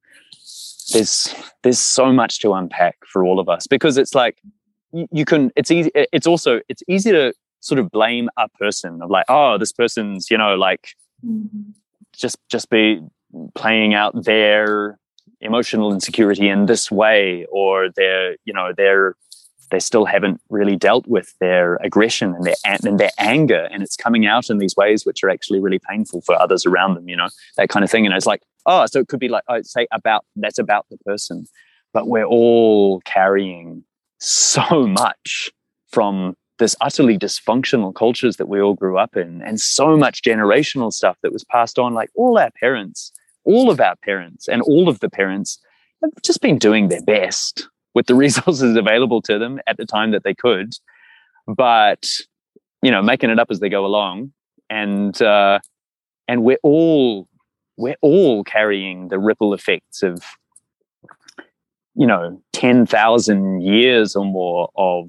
there's there's so much to unpack for all of us, because it's like you, you can, it's easy, it's also, it's easy to sort of blame a person of like, oh, this person's, you know, like mm-hmm. just just be playing out their emotional insecurity in this way, or their, you know, their they still haven't really dealt with their aggression and their and their anger, and it's coming out in these ways which are actually really painful for others around them, you know, that kind of thing. And it's like, oh, so it could be like, I'd say about, that's about the person, but we're all carrying so much from this utterly dysfunctional cultures that we all grew up in, and so much generational stuff that was passed on. Like all our parents, all of our parents and all of the parents have just been doing their best with the resources available to them at the time that they could, but, you know, making it up as they go along. And, uh, and we're all, we're all carrying the ripple effects of, you know, ten thousand years or more of,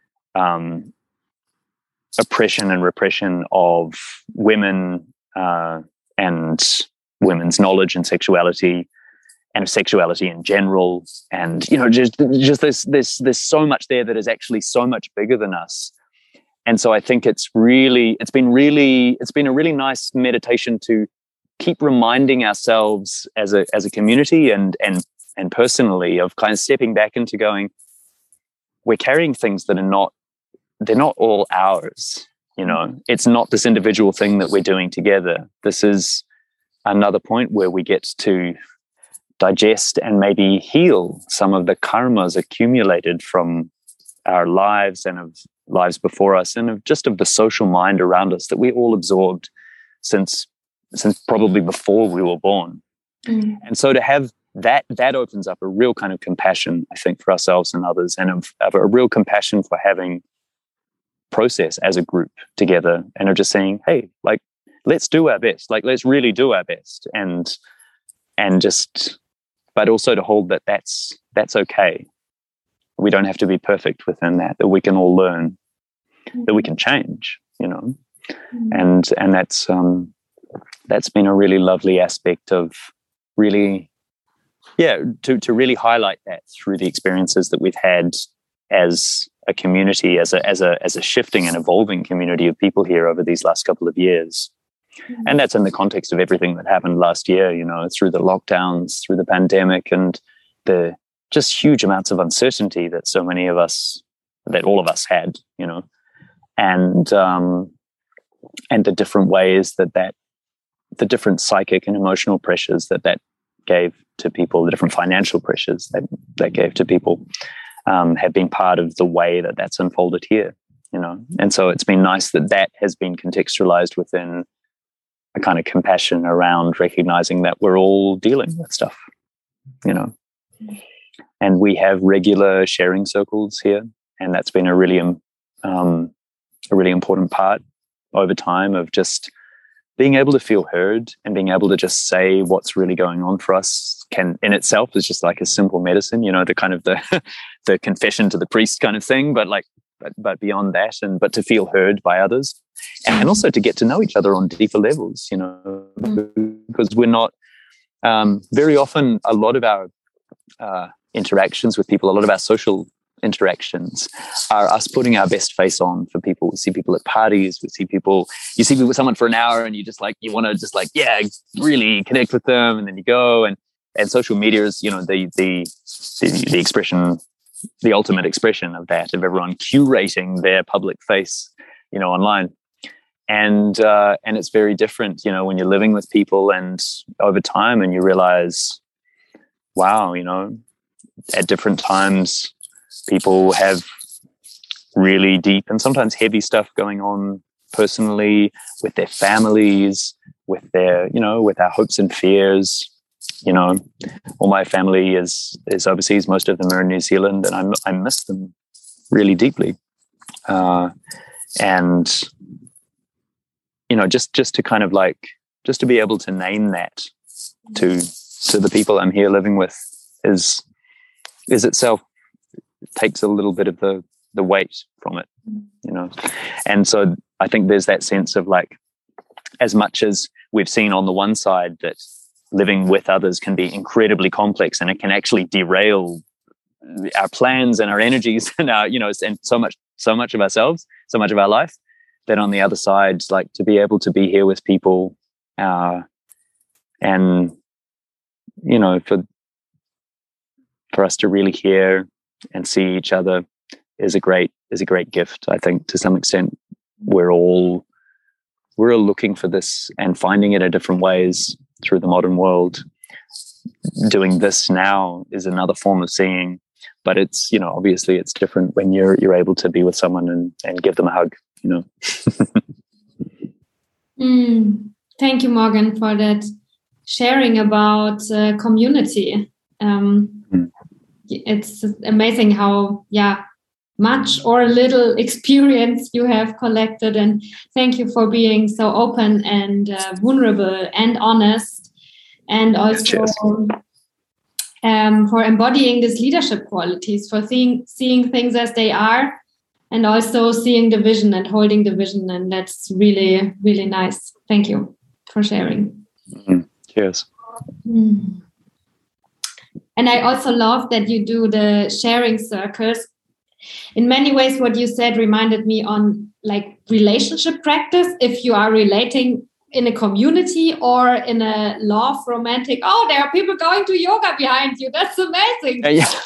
um, oppression and repression of women, uh, and women's knowledge and sexuality, and of sexuality in general. And, you know, just, just this, this, there's so much there that is actually so much bigger than us. And so I think it's really, it's been really, it's been a really nice meditation to keep reminding ourselves as a, as a community and, and, and personally, of kind of stepping back into going, we're carrying things that are not, they're not all ours. You know, it's not this individual thing that we're doing together. This is another point where we get to digest and maybe heal some of the karmas accumulated from our lives and of lives before us, and of just of the social mind around us that we all absorbed since since probably before we were born. Mm. And so to have that, that opens up a real kind of compassion, I think, for ourselves and others, and of, of a real compassion for having process as a group together, and of just saying, hey, like, let's do our best, like, let's really do our best. And, and just, but also to hold that that's, that's okay. We don't have to be perfect within that, that we can all learn, mm-hmm. that we can change, you know, mm-hmm. and, and that's, um, that's been a really lovely aspect of really, yeah, to, to really highlight that through the experiences that we've had as a community, as a, as a, as a shifting and evolving community of people here over these last couple of years. Mm-hmm. And that's in the context of everything that happened last year, you know, through the lockdowns, through the pandemic, and the just huge amounts of uncertainty that so many of us, that all of us had, you know, and, um, and the different ways that that, the different psychic and emotional pressures that that gave to people, the different financial pressures that that gave to people, um, have been part of the way that that's unfolded here, you know. And so it's been nice that that has been contextualized within a kind of compassion around recognizing that we're all dealing with stuff, you know. And we have regular sharing circles here, and that's been a really um, a really important part over time of just being able to feel heard and being able to just say what's really going on for us can in itself is just like a simple medicine, you know, the kind of the the confession to the priest kind of thing, but like but, but beyond that, and but to feel heard by others, and also to get to know each other on deeper levels, you know, because we're not um, very often a lot of our uh, interactions with people, a lot of our social interactions are us putting our best face on for people. We see people at parties, we see people, you see people with someone for an hour and you just like, you want to just like, yeah, really connect with them. And then you go and, and social media is, you know, the, the, the, the expression, the ultimate expression of that, of everyone curating their public face, you know, online. And, uh, and it's very different, you know, when you're living with people and over time and you realize, wow, you know, at different times, people have really deep and sometimes heavy stuff going on personally with their families, with their, you know, with our hopes and fears. You know, all my family is is overseas. Most of them are in New Zealand, and I I miss them really deeply. Uh, and you know, just just to kind of like just to be able to name that to to the people I'm here living with is is itself. Takes a little bit of the the weight from it, you know. And so I think there's that sense of like, as much as we've seen on the one side that living with others can be incredibly complex and it can actually derail our plans and our energies and our, you know, and so much so much of ourselves, so much of our life, then on the other side, like to be able to be here with people uh and you know, for for us to really hear and see each other is a great is a great gift. I think to some extent we're all we're all looking for this and finding it in different ways through the modern world. Doing this now is another form of seeing, but it's, you know, obviously it's different when you're you're able to be with someone and, and give them a hug, you know. mm, thank you, Morgan, for that sharing about uh, community. Um, mm. It's amazing how, yeah, much or little experience you have collected, and thank you for being so open and uh, vulnerable and honest, and also um, for embodying these leadership qualities, for seeing seeing things as they are, and also seeing the vision and holding the vision. And that's really, really nice. Thank you for sharing. Mm. Cheers. Mm. And I also love that you do the sharing circles. In many ways, what you said reminded me on like relationship practice. If you are relating in a community or in a love romantic, oh, there are people going to yoga behind you. That's amazing. Uh, yeah.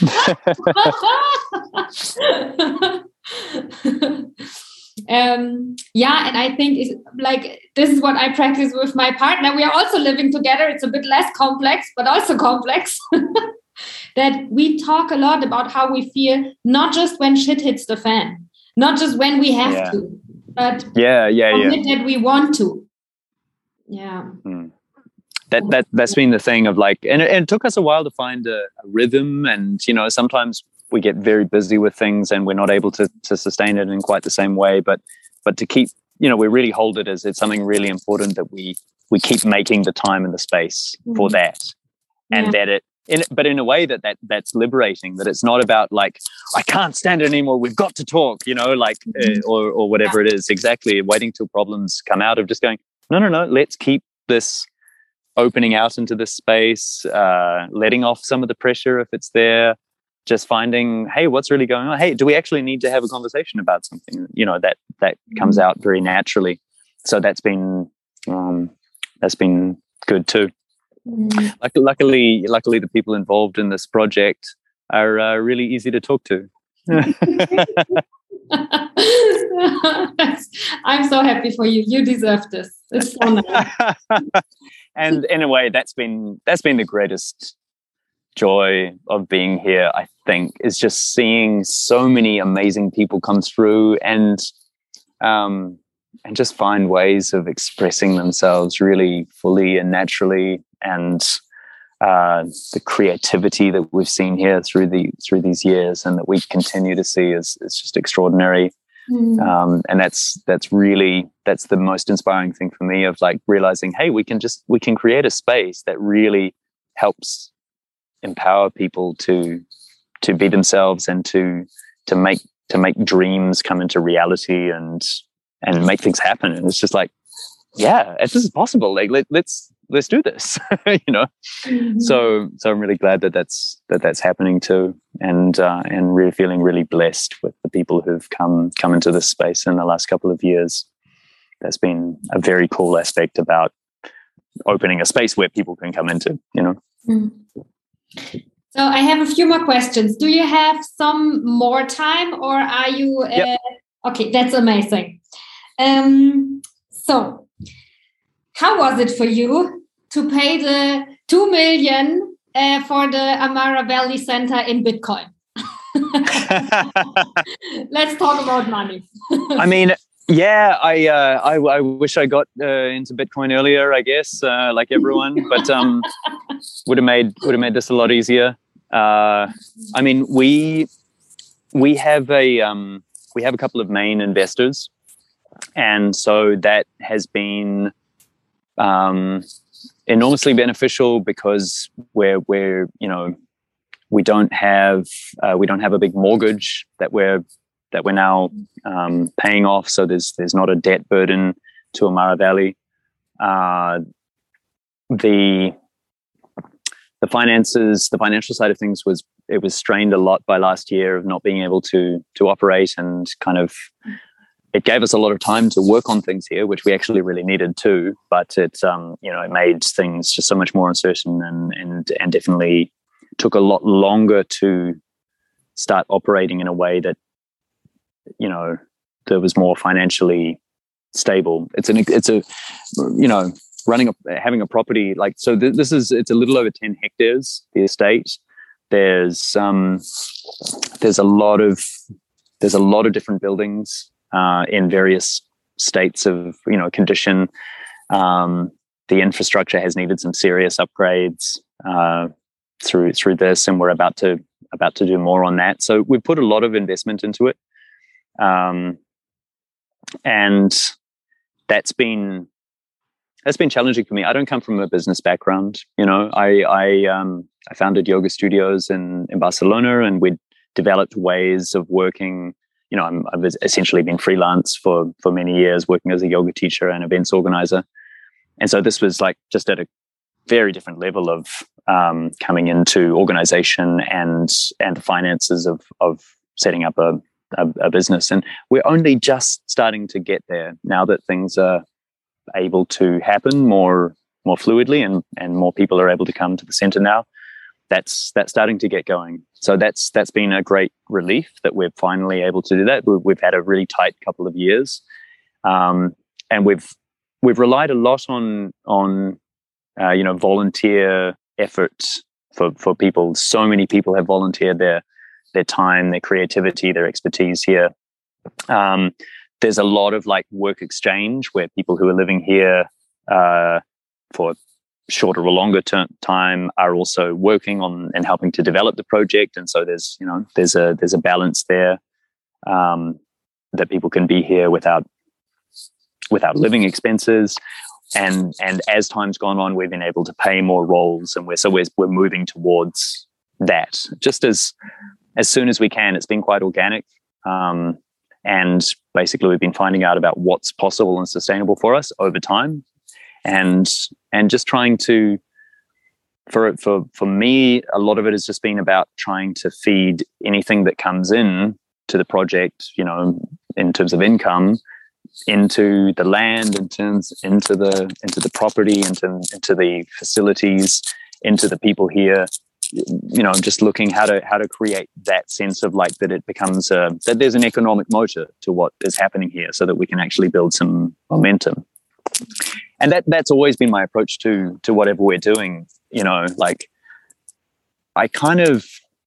um, yeah, and I think it's like this is what I practice with my partner. We are also living together. It's a bit less complex, but also complex. That we talk a lot about how we feel, not just when shit hits the fan, not just when we have yeah. to, but yeah, yeah, yeah. that we want to. Yeah. Hmm. That that that's been the thing of like, and it, and it took us a while to find a, a rhythm, and you know sometimes we get very busy with things and we're not able to to sustain it in quite the same way. But but to keep, you know, we really hold it as it's something really important that we we keep making the time and the space mm. for that, and yeah. that it. In, but in a way that, that that's liberating, that it's not about like, I can't stand it anymore, we've got to talk, you know, like, mm-hmm. uh, or or whatever yeah. it is, exactly, waiting till problems come out, of just going, no, no, no, let's keep this opening out into this space, uh, letting off some of the pressure if it's there, just finding, hey, what's really going on? Hey, do we actually need to have a conversation about something? You know, that that mm-hmm. comes out very naturally. So that's been, um, that's been good too. Mm. Luckily, luckily, the people involved in this project are uh, really easy to talk to. I'm so happy for you. You deserve this. It's so nice. And in a way, that's been that's been the greatest joy of being here. I think is just seeing so many amazing people come through and. Um, and just find ways of expressing themselves really fully and naturally, and uh, the creativity that we've seen here through the through these years, and that we continue to see is is just extraordinary. Mm. Um, and that's that's really that's the most inspiring thing for me, of like realizing, hey, we can just we can create a space that really helps empower people to to be themselves and to to make to make dreams come into reality and. and make things happen. And it's just like, yeah, this is possible. Like, let, let's, let's do this, you know? Mm-hmm. So, so I'm really glad that that's, that that's happening too. And, uh, and really feeling really blessed with the people who've come, come into this space in the last couple of years. That's been a very cool aspect about opening a space where people can come into, you know? Mm-hmm. So I have a few more questions. Do you have some more time, or are you, uh, yep. Okay, that's amazing. Um, so, how was it for you to pay the two million uh, for the Amara Valley Center in Bitcoin? Let's talk about money. I mean, yeah, I, uh, I I wish I got uh, into Bitcoin earlier, I guess, uh, like everyone, but um, would have made would have made this a lot easier. Uh, I mean, we we have a um, we have a couple of main investors. And so that has been um, enormously beneficial, because we're we're you know we don't have uh, we don't have a big mortgage that we're that we're now um, paying off. So there's there's not a debt burden to Amara Valley. Uh, the the finances, the financial side of things was it was strained a lot by last year of not being able to to operate, and kind of. It gave us a lot of time to work on things here, which we actually really needed too. But it, um, you know, it made things just so much more uncertain, and and and definitely took a lot longer to start operating in a way that, you know, that was more financially stable. It's an, it's a, you know, running a, having a property like, so th- this is, it's a little over ten hectares, the estate. There's, um, there's a lot of, there's a lot of different buildings, uh, in various states of, you know, condition. Um, the infrastructure has needed some serious upgrades, uh, through, through this, and we're about to, about to do more on that. So we've put a lot of investment into it. Um, and that's been, that's been challenging for me. I don't come from a business background. You know, I, I, um, I founded yoga studios in, in Barcelona, and we developed ways of working. You know, I'm, I've essentially been freelance for, for many years, working as a yoga teacher and events organizer. And so this was like just at a very different level of, um, coming into organization and, and the finances of, of setting up a, a, a business. And we're only just starting to get there now that things are able to happen more, more fluidly, and, and more people are able to come to the center now. That's, that's starting to get going. So that's, that's been a great relief that we're finally able to do that. We've, we've had a really tight couple of years. Um, and we've, we've relied a lot on, on, uh, you know, volunteer efforts for, for people. So many people have volunteered their, their time, their creativity, their expertise here. Um, there's a lot of like work exchange where people who are living here, uh, for shorter or longer term time are also working on and helping to develop the project. And so there's, you know, there's a, there's a balance there, um, that people can be here without, without living expenses. And, and as time's gone on, we've been able to pay more roles, and we're, so we're, we're moving towards that just as, as soon as we can. It's been quite organic. Um, and basically we've been finding out about what's possible and sustainable for us over time. And, and just trying to, for, for, for me, a lot of it has just been about trying to feed anything that comes in to the project, you know, in terms of income, into the land, in terms, into the, into the property, into, into the facilities, into the people here. You know, just looking how to, how to create that sense of like, that it becomes a, that there's an economic motor to what is happening here, so that we can actually build some momentum. And that, that's always been my approach to, to whatever we're doing. You know, like I kind of,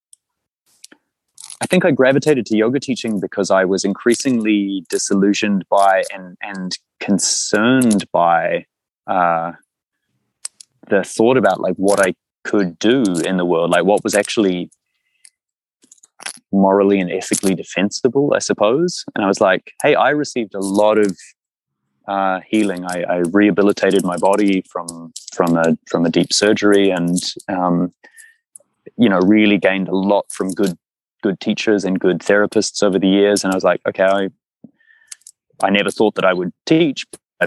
I think I gravitated to yoga teaching because I was increasingly disillusioned by and, and concerned by, uh, the thought about like what I could do in the world, like what was actually morally and ethically defensible, I suppose. And I was like, hey, I received a lot of uh, healing. I, I rehabilitated my body from from a from a deep surgery, and um, you know, really gained a lot from good good teachers and good therapists over the years. And I was like, okay, I I never thought that I would teach. I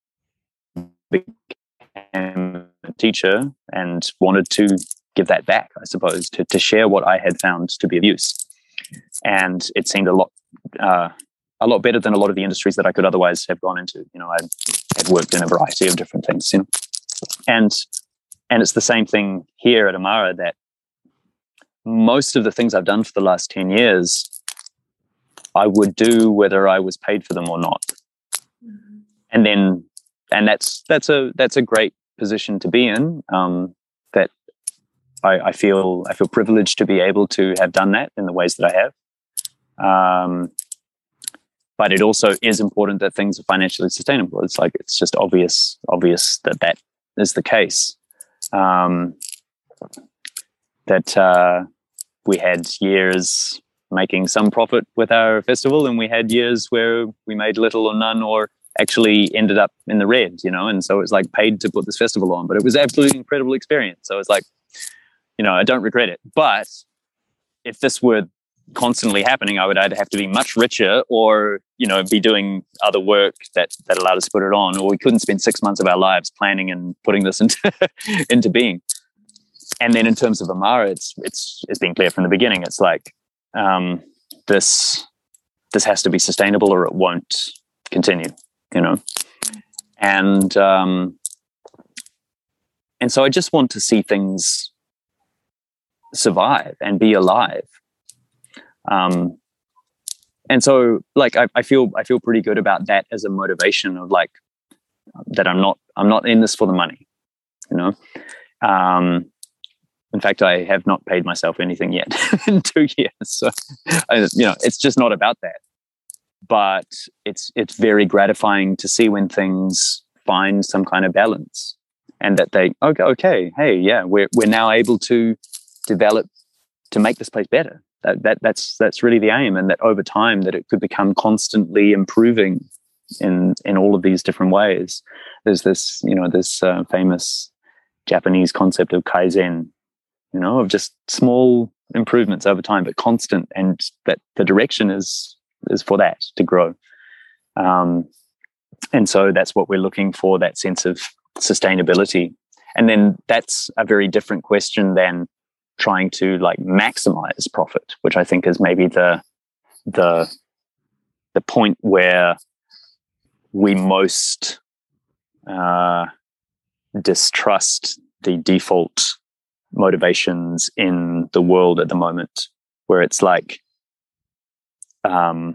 became a teacher and wanted to give that back, I suppose, to, to share what I had found to be of use. And it seemed a lot, uh, a lot better than a lot of the industries that I could otherwise have gone into. You know, I had worked in a variety of different things, you know, and, and it's the same thing here at Amara, that most of the things I've done for the last ten years, I would do whether I was paid for them or not. Mm-hmm. And then, and that's, that's a, that's a great position to be in. Um, that I, I feel, I feel privileged to be able to have done that in the ways that I have. Um, but it also is important that things are financially sustainable. It's like, it's just obvious, obvious that that is the case. Um, that, uh, we had years making some profit with our festival, and we had years where we made little or none, or actually ended up in the red, you know, and so it was like paid to put this festival on, but it was absolutely incredible experience. So it's like, you know, I don't regret it. But if this were constantly happening, I would either have to be much richer, or, you know, be doing other work that, that allowed us to put it on, or we couldn't spend six months of our lives planning and putting this into, into being. And then in terms of Amara, it's, it's, it's been clear from the beginning. It's like, um, this, this has to be sustainable or it won't continue, you know? And, um, and so I just want to see things survive and be alive. Um, and so, like, I, I feel I feel pretty good about that as a motivation of like that. I'm not I'm not in this for the money, you know. Um, in fact, I have not paid myself anything yet in two years. So, I, you know, it's just not about that. But it's it's very gratifying to see when things find some kind of balance, and that they okay, okay, hey, yeah, we're we're now able to develop to make this place better. That that that's that's really the aim, and that over time that it could become constantly improving in in all of these different ways. There's this, you know, this uh, famous Japanese concept of Kaizen, you know, of just small improvements over time, but constant, and that the direction is is for that to grow. Um, and so that's what we're looking for, that sense of sustainability. And then that's a very different question than trying to like maximize profit, which I think is maybe the the the point where we most uh, distrust the default motivations in the world at the moment, where it's like um,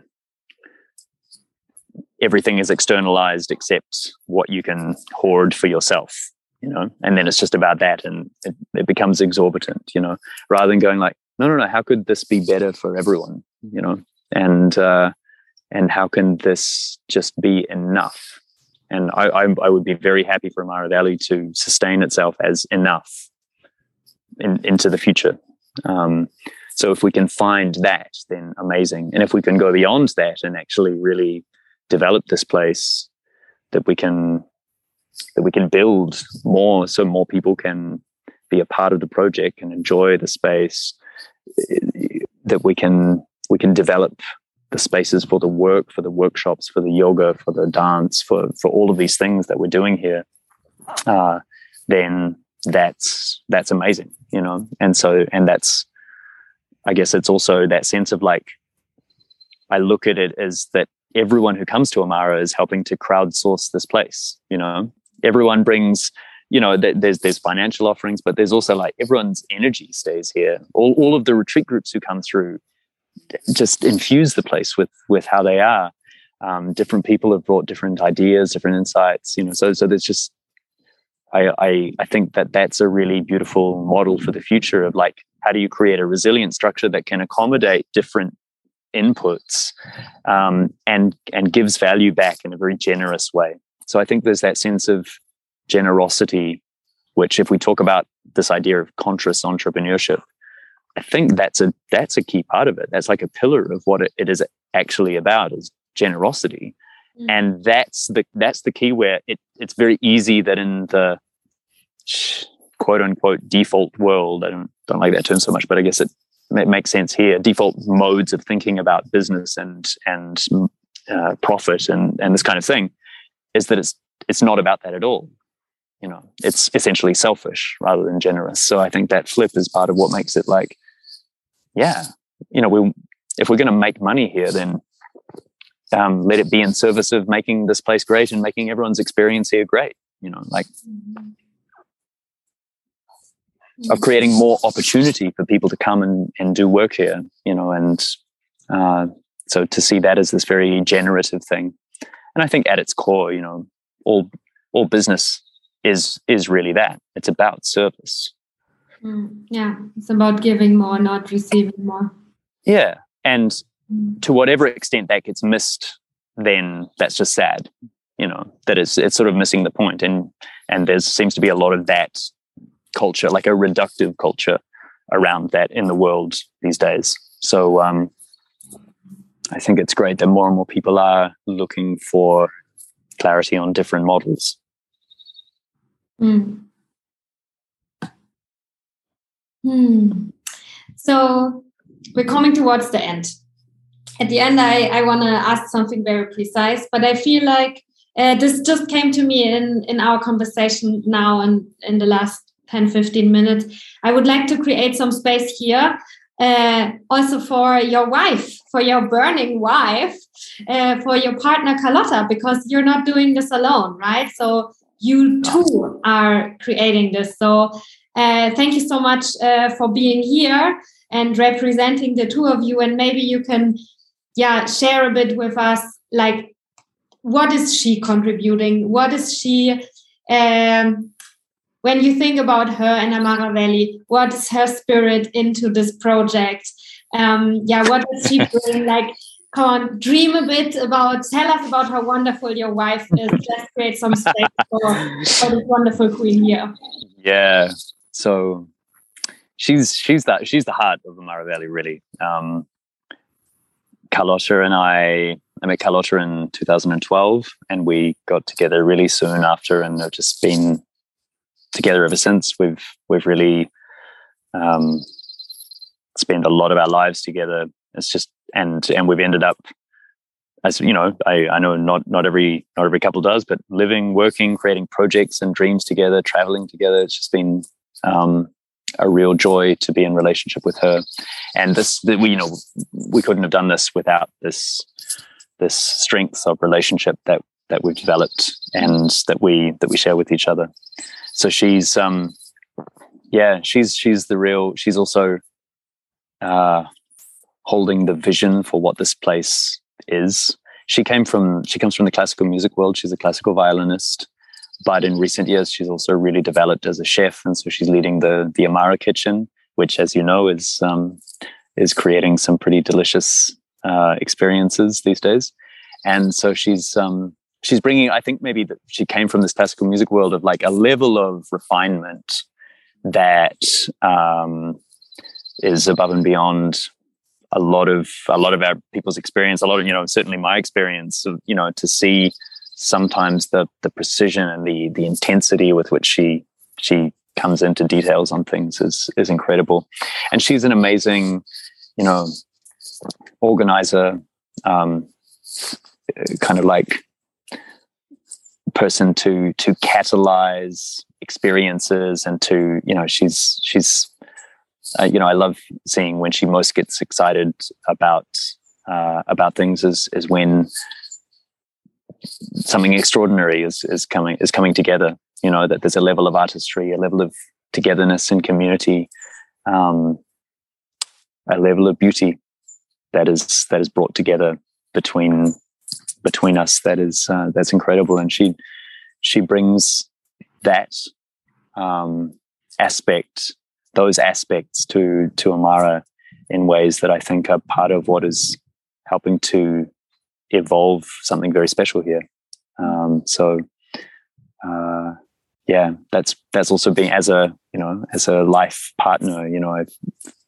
everything is externalized except what you can hoard for yourself, you know, and then it's just about that, and it, it becomes exorbitant, you know, rather than going like, no, no, no, how could this be better for everyone, you know, and uh, and how can this just be enough? And I, I, I would be very happy for Amara Valley to sustain itself as enough in, into the future. Um, so if we can find that, then amazing. And if we can go beyond that and actually really develop this place, that we can that we can build more, so more people can be a part of the project and enjoy the space, that we can we can develop the spaces for the work, for the workshops, for the yoga, for the dance, for for all of these things that we're doing here, uh, then that's that's amazing, you know. And so, and that's, I guess it's also that sense of like, I look at it as that everyone who comes to Amara is helping to crowdsource this place, you know. Everyone brings, you know, th- there's there's financial offerings, but there's also like everyone's energy stays here. All all of the retreat groups who come through just infuse the place with with how they are. Um, different people have brought different ideas, different insights, you know. So so there's just, I I I think that that's a really beautiful model for the future of like, how do you create a resilient structure that can accommodate different inputs, um, and and gives value back in a very generous way. So I think there's that sense of generosity, which if we talk about this idea of conscious entrepreneurship, I think that's a that's a key part of it. That's like a pillar of what it, it is actually about, is generosity. Mm. And that's the that's the key, where it, it's very easy that in the quote unquote default world, I don't don't like that term so much, but I guess it It makes sense here. Default modes of thinking about business and and uh, profit and and this kind of thing is that it's it's not about that at all. You know, it's essentially selfish rather than generous. So I think that flip is part of what makes it like, yeah, you know, we if we're going to make money here, then um, let it be in service of making this place great and making everyone's experience here great. You know, like. Of creating more opportunity for people to come and, and do work here, you know, and uh, so to see that as this very generative thing. And I think at its core, you know, all all business is is really that. It's about service. Mm, yeah, it's about giving more, not receiving more. Yeah, and mm. to whatever extent that gets missed, then that's just sad, you know, that it's it's sort of missing the point. And and there seems to be a lot of that culture, like a reductive culture around that in the world these days. So um, I think it's great that more and more people are looking for clarity on different models. Mm. Hmm. So we're coming towards the end. At the end, I, I want to ask something very precise, but I feel like uh, this just came to me in, in our conversation now and in the last ten, fifteen minutes. I would like to create some space here uh, also for your wife, for your burning wife, uh, for your partner Carlotta, because you're not doing this alone, right? So you too are creating this. So uh, thank you so much uh, for being here and representing the two of you. And maybe you can, yeah, share a bit with us, like, what is she contributing? What is she, um, when you think about her and Amara Valley, what is her spirit into this project? Um, yeah, what does she bring? Like, come on, dream a bit about, tell us about how wonderful your wife is. Let's create some space for, for this wonderful queen here. Yeah, so she's she's that she's the heart of Amara Valley, really. Um, Carlotta and I, I met Carlotta in two thousand twelve, and we got together really soon after, and have just been together ever since. We've we've really um, spent a lot of our lives together. It's just and and we've ended up, as you know, I, I know not not every not every couple does, but living, working, creating projects and dreams together, traveling together. It's just been um, a real joy to be in relationship with her. And this, the, we you know, we couldn't have done this without this this strength of relationship that that we've developed and that we that we share with each other. So she's um, yeah, she's she's the real. She's also uh, holding the vision for what this place is. She came from she comes from the classical music world. She's a classical violinist, but in recent years she's also really developed as a chef, and so she's leading the the Amara Kitchen, which, as you know, is um, is creating some pretty delicious uh, experiences these days. And so she's um, she's bringing. I think maybe that she came from this classical music world of like a level of refinement that um, is above and beyond a lot of a lot of our people's experience, a lot of, you know, certainly my experience of, you know, to see sometimes the the precision and the the intensity with which she she comes into details on things is is incredible. And she's an amazing, you know, organizer, um, kind of like person to to catalyze experiences and to, you know, she's she's Uh, you know, I love seeing when she most gets excited about uh, about things is is when something extraordinary is is coming is coming together. You know, that there's a level of artistry, a level of togetherness and community, um, a level of beauty that is that is brought together between between us. That is uh, that's incredible, and she she brings that um, aspect. those aspects to to Amara in ways that I think are part of what is helping to evolve something very special here. Um, so, uh, yeah, that's that's also being as a you know as a life partner. You know, I've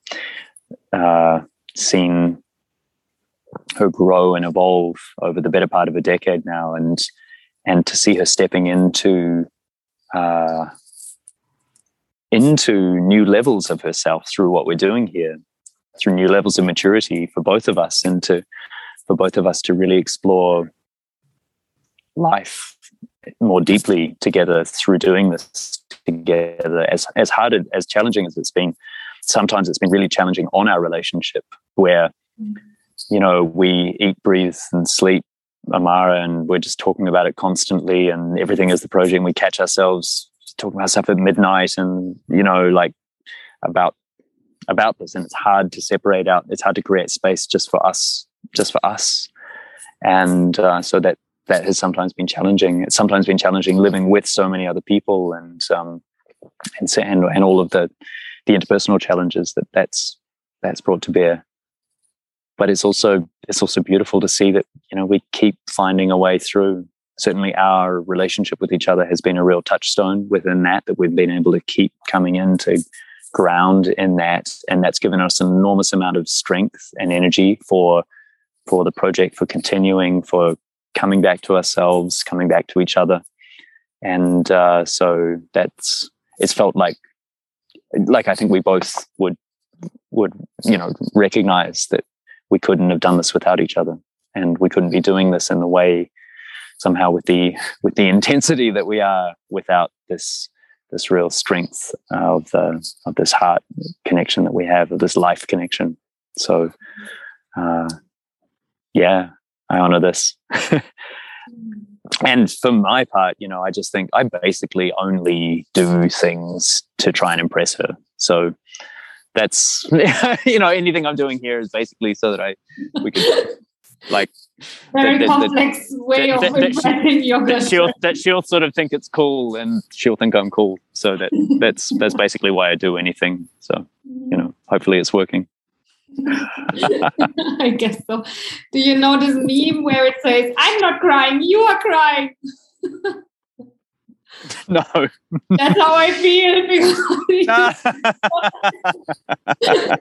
uh, seen her grow and evolve over the better part of a decade now, and and to see her stepping into. Uh, into new levels of herself through what we're doing here, through new levels of maturity for both of us, and to for both of us to really explore life more deeply together through doing this together. As as hard as challenging as it's been, sometimes it's been really challenging on our relationship, where you know we eat, breathe, and sleep Amara, and we're just talking about it constantly, and everything is the project. And we catch ourselves talking about stuff at midnight, and you know, like about about this, and it's hard to separate out. It's hard to create space just for us, just for us, and uh, so that that has sometimes been challenging. It's sometimes been challenging living with so many other people, and um, and and and all of the the interpersonal challenges that that's that's brought to bear. But it's also it's also beautiful to see that, you know, we keep finding a way through. Certainly our relationship with each other has been a real touchstone within that, that we've been able to keep coming in to ground in that. And that's given us an enormous amount of strength and energy for, for the project, for continuing, for coming back to ourselves, coming back to each other. And uh, so that's, it's felt like, like I think we both would, would, you know, recognize that we couldn't have done this without each other. And we couldn't be doing this in the way, somehow with the with the intensity that we are, without this this real strength of the of this heart connection that we have, of this life connection. So, uh, yeah, I honor this. And for my part, you know, I just think I basically only do things to try and impress her. So that's you know, anything I'm doing here is basically so that I we could like very that, complex that, way that, of that, that, impressing your that she'll that she'll sort of think it's cool, and she'll think I'm cool. So that that's that's basically why I do anything. So you know, hopefully it's working. I guess so. Do you know this meme where it says, "I'm not crying, you are crying"? No. That's how I feel. Because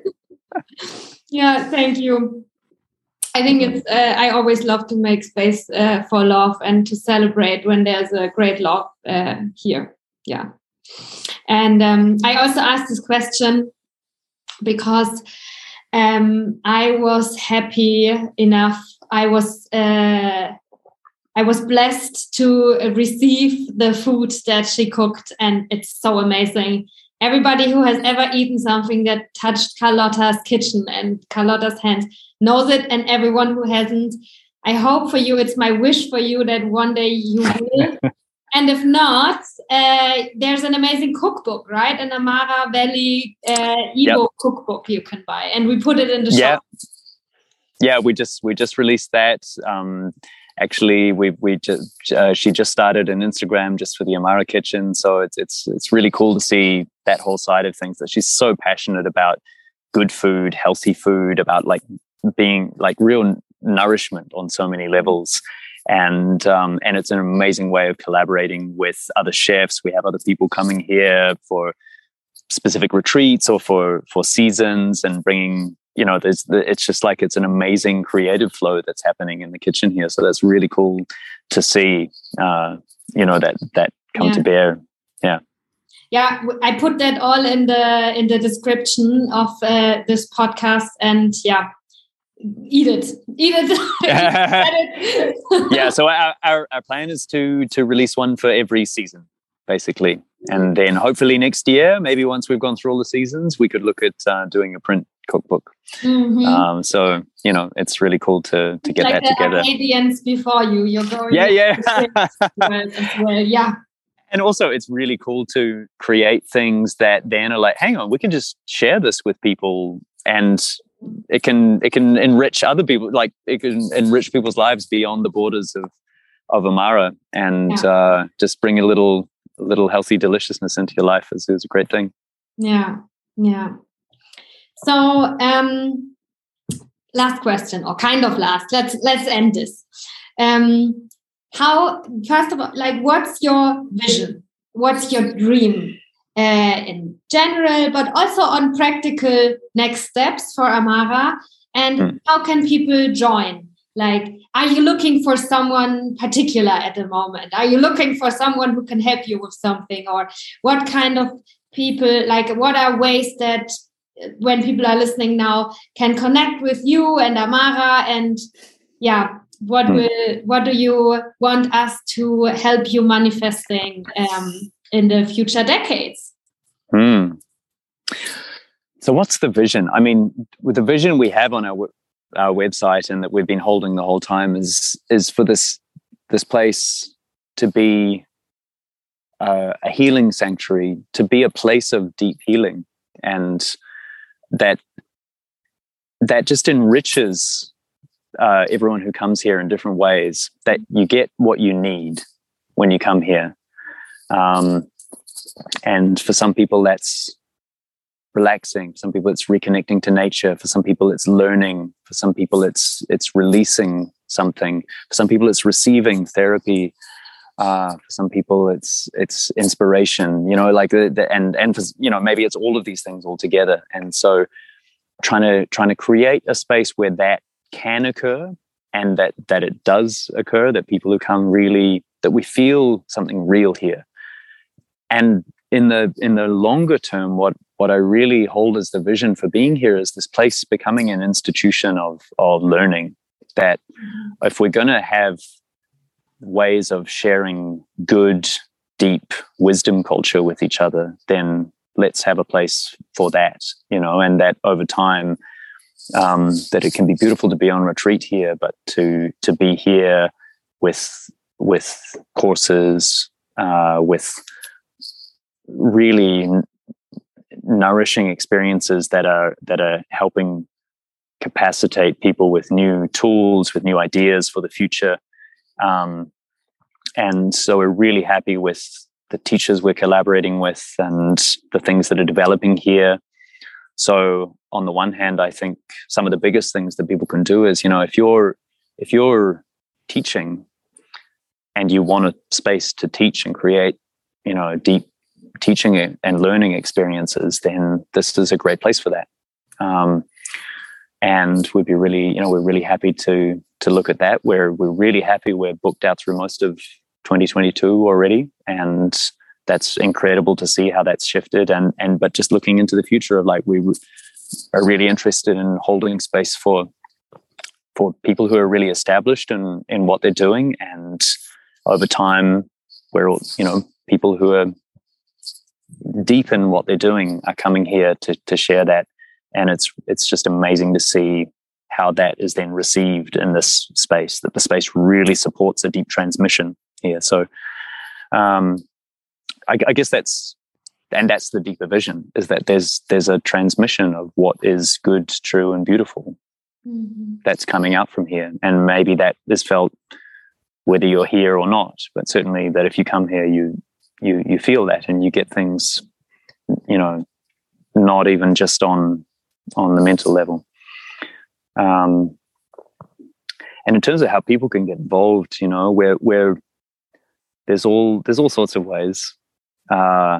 yeah, thank you. I think it's, uh, I always love to make space uh, for love and to celebrate when there's a great love uh, here. Yeah. And um, I also asked this question because um, I was happy enough. I was, uh, I was blessed to receive the food that she cooked, and it's so amazing. Everybody who has ever eaten something that touched Carlotta's kitchen and Carlotta's hands knows it, and everyone who hasn't, I hope for you, it's my wish for you that one day you will. And if not, uh, there's an amazing cookbook, right? An Amara Valley uh, ebook yep. cookbook you can buy, and we put it in the yeah. shop. Yeah, we just we just released that. Um, Actually, we we just uh, she just started an Instagram just for the Amara Kitchen, so it's it's it's really cool to see that whole side of things. That she's so passionate about good food, healthy food, about like being like real nourishment on so many levels, and um, and it's an amazing way of collaborating with other chefs. We have other people coming here for specific retreats or for for seasons, and bringing. You know, there's the, it's just like it's an amazing creative flow that's happening in the kitchen here. So that's really cool to see, uh, you know, that that come yeah. to bear. Yeah. Yeah, I put that all in the in the description of uh, this podcast, and yeah, eat it, eat it. Yeah. So our, our our plan is to to release one for every season, basically, and then hopefully next year, maybe once we've gone through all the seasons, we could look at uh, doing a print cookbook. Mm-hmm. Um, so you know, it's really cool to to get like that the together. Arcadians before you, you're going. Yeah, yeah. as well, as well. Yeah. And also, it's really cool to create things that then are like, hang on, we can just share this with people, and it can it can enrich other people. Like it can enrich people's lives beyond the borders of of Amara, and yeah. uh, just bring a little a little healthy deliciousness into your life is, is a great thing. Yeah, yeah. So, um, last question, or kind of last. Let's let's end this. Um, how first of all, like, what's your vision? What's your dream uh, in general, but also on practical next steps for Amara? And mm. how can people join? Like, are you looking for someone particular at the moment? Are you looking for someone who can help you with something, or what kind of people? Like, what are ways that when people are listening now can connect with you and Amara, and yeah, what will what do you want us to help you manifesting um, in the future decades? Hmm. So what's the vision? I mean, with the vision we have on our our website and that we've been holding the whole time is is for this this place to be uh, a healing sanctuary, to be a place of deep healing, and that that just enriches uh, everyone who comes here in different ways, that you get what you need when you come here. Um, and for some people that's relaxing, for some people it's reconnecting to nature, for some people it's learning, for some people it's it's releasing something, for some people it's receiving therapy, Uh, for some people, it's it's inspiration, you know, like the, the and and for, you know, maybe it's all of these things all together. And so, trying to trying to create a space where that can occur, and that that it does occur, that people who come really, that we feel something real here. And in the in the longer term, what what I really hold as the vision for being here is this place becoming an institution of of learning. That if we're going to have ways of sharing good, deep wisdom culture with each other, then let's have a place for that, you know, and that over time, um, that it can be beautiful to be on retreat here, but to to be here with with courses, uh, with really nourishing experiences that are that are helping capacitate people with new tools, with new ideas for the future. Um, and so we're really happy with the teachers we're collaborating with and the things that are developing here. So on the one hand, I think some of the biggest things that people can do is, you know, if you're if you're teaching and you want a space to teach and create, you know, deep teaching and learning experiences, then this is a great place for that. Um, and we'd be really, you know, we're really happy to to look at that. We're we're really happy. We're booked out through most of twenty twenty-two already, and that's incredible to see how that's shifted. And and but just looking into the future of like, we are really interested in holding space for for people who are really established in in what they're doing, and over time, we're all, you know, people who are deep in what they're doing are coming here to to share that. And it's it's just amazing to see how that is then received in this space, that the space really supports a deep transmission here. So um, I, I guess that's, and that's the deeper vision, is that there's there's a transmission of what is good, true, and beautiful mm-hmm. that's coming out from here. And maybe that is felt whether you're here or not, but certainly that if you come here, you you you feel that, and you get things, you know, not even just on on the mental level. Um, and in terms of how people can get involved, you know, where where there's all there's all sorts of ways. Uh,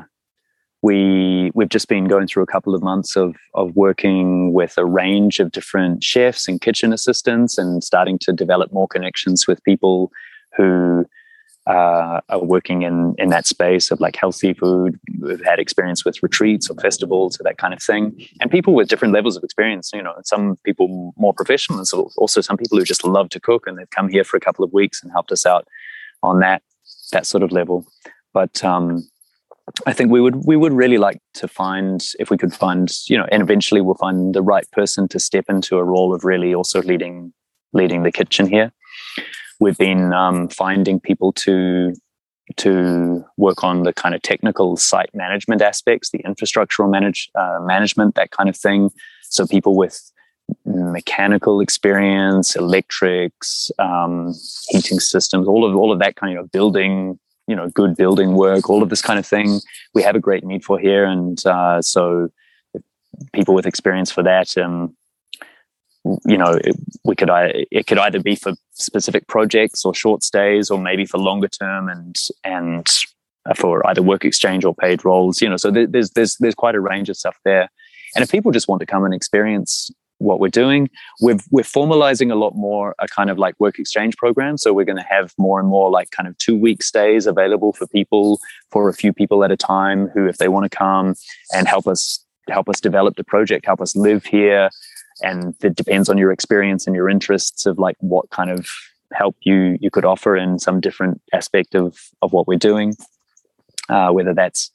we we've just been going through a couple of months of of working with a range of different chefs and kitchen assistants, and starting to develop more connections with people who uh, are working in in that space of like healthy food. We've had experience with retreats or festivals or that kind of thing, and people with different levels of experience. You know, some people more professional, and so also some people who just love to cook, and they've come here for a couple of weeks and helped us out on that that sort of level. But um, I think we would we would really like to find, if we could find, you know, and eventually we'll find the right person to step into a role of really also leading leading the kitchen here. We've been um, finding people to to work on the kind of technical site management aspects, the infrastructural manage uh, management, that kind of thing. So people with mechanical experience, electrics, um, heating systems, all of all of that kind of building, you know, good building work, all of this kind of thing, we have a great need for here. And uh, so people with experience for that, um, you know, it, we could it could either be for specific projects or short stays, or maybe for longer term and and for either work exchange or paid roles. You know, so there's there's there's quite a range of stuff there. And if people just want to come and experience what we're doing, we've, we're formalizing a lot more a kind of like work exchange program. So we're going to have more and more like kind of two week stays available for people, for a few people at a time, who, if they want to come and help us help us develop the project, help us live here. And it depends on your experience and your interests of like what kind of help you you could offer in some different aspect of of what we're doing, uh, whether that's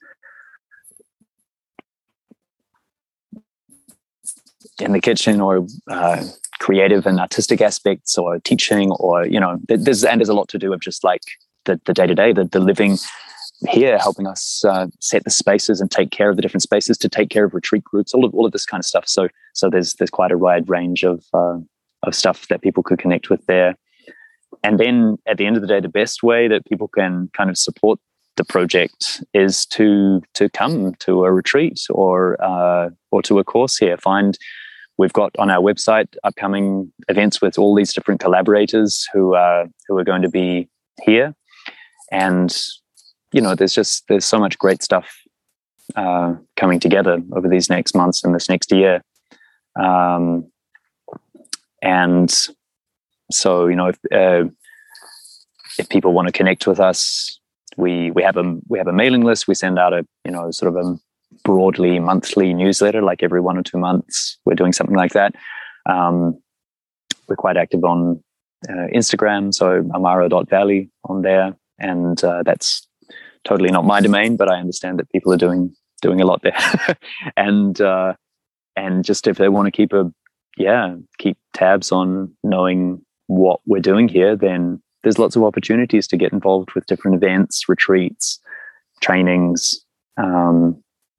in the kitchen or uh, creative and artistic aspects, or teaching, or, you know, there's and there's a lot to do with just like the the day to day, the the living here, helping us uh, set the spaces and take care of the different spaces, to take care of retreat groups, all of all of this kind of stuff. So so there's there's quite a wide range of uh, of stuff that people could connect with there. And then at the end of the day, the best way that people can kind of support the project is to to come to a retreat or uh, or to a course here. Find We've got on our website upcoming events with all these different collaborators who are who are going to be here, and you know, there's just there's so much great stuff uh, coming together over these next months and this next year, um, and so you know, if uh, if people want to connect with us, we we have a we have a mailing list. We send out a you know sort of a broadly monthly newsletter, like every one or two months. We're doing something like that. Um, we're quite active on uh, Instagram, so amaro dot valley on there, and uh, that's totally not my domain, but I understand that people are doing doing a lot there. and uh, and just if they want to keep a yeah keep tabs on knowing what we're doing here, then there's lots of opportunities to get involved with different events, retreats, trainings. Um,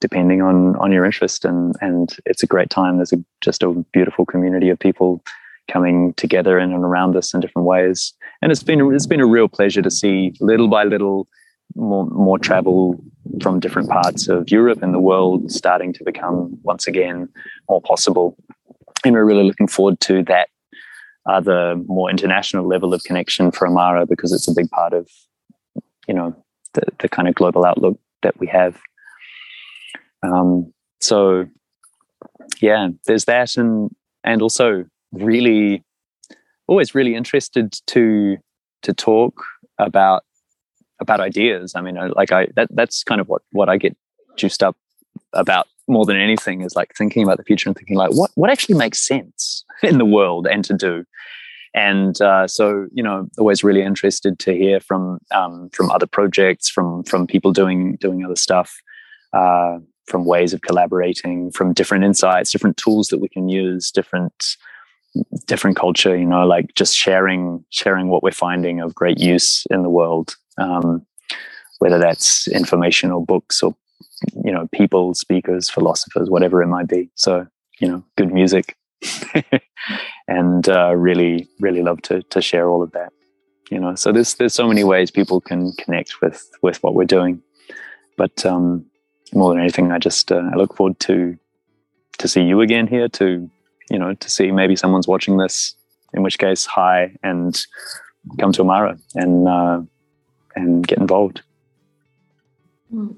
depending on on your interest. And and it's a great time. There's a, just a beautiful community of people coming together in and around us in different ways. And it's been it's been a real pleasure to see little by little more more travel from different parts of Europe and the world starting to become once again more possible. And we're really looking forward to that other more international level of connection for Amara, because it's a big part of, you know, the, the kind of global outlook that we have. Um, so yeah, there's that, and and also really always really interested to to talk about about ideas. I mean, like I that that's kind of what what I get juiced up about more than anything, is like thinking about the future and thinking like what what actually makes sense in the world and to do. And uh, so, you know, always really interested to hear from um, from other projects, from from people doing doing other stuff, uh, from ways of collaborating, from different insights, different tools that we can use, different different culture, you know, like just sharing sharing what we're finding of great use in the world, um, whether that's information or books or, you know, people, speakers, philosophers, whatever it might be. So, you know, good music. And uh, really, really love to to share all of that. You know, so there's there's so many ways people can connect with with what we're doing. But um, more than anything, I just uh, I look forward to to see you again here. To you know, to see maybe someone's watching this. In which case, hi, and come to Amara and uh, and get involved. Mm.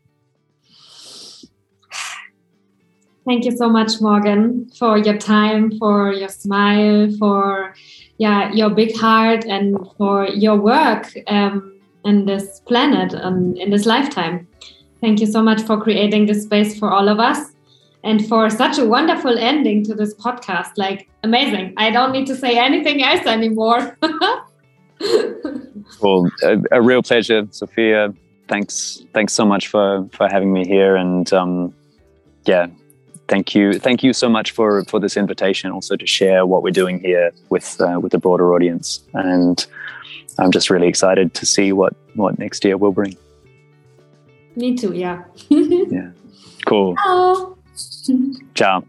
Thank you so much, Morgan, for your time, for your smile, for yeah, your big heart, and for your work um, in this planet and in this lifetime. Thank you so much for creating this space for all of us, and for such a wonderful ending to this podcast. Like, amazing. I don't need to say anything else anymore. Well, a, a real pleasure, Sophia. Thanks, thanks so much for for having me here, and um, yeah. Thank you. Thank you so much for, for this invitation, also to share what we're doing here with uh, with the broader audience. And I'm just really excited to see what, what next year will bring. Me too, yeah. Yeah. Cool. Ciao. Ciao.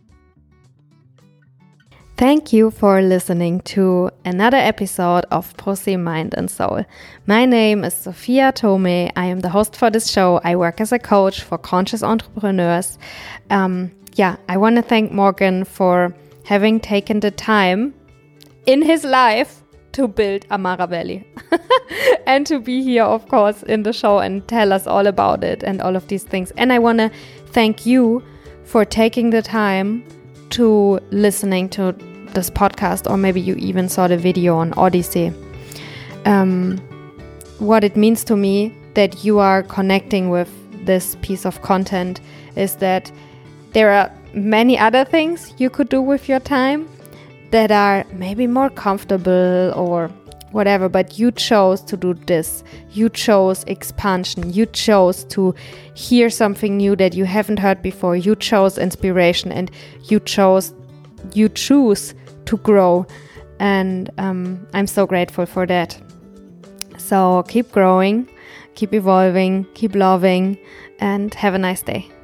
Thank you for listening to another episode of Pussy, Mind and Soul. My name is Sophia Tome. I am the host for this show. I work as a coach for conscious entrepreneurs. Um, yeah, I want to thank Morgan for having taken the time in his life to build Amara Valley and to be here, of course, in the show and tell us all about it and all of these things. And I want to thank you for taking the time to listening to this podcast, or maybe you even saw the video on Odyssey. Um, what it means to me that you are connecting with this piece of content is that there are many other things you could do with your time that are maybe more comfortable or whatever, but you chose to do this. You chose expansion. You chose to hear something new that you haven't heard before. You chose inspiration, and you chose, you choose to grow. And um, I'm so grateful for that. So keep growing, keep evolving, keep loving, and have a nice day.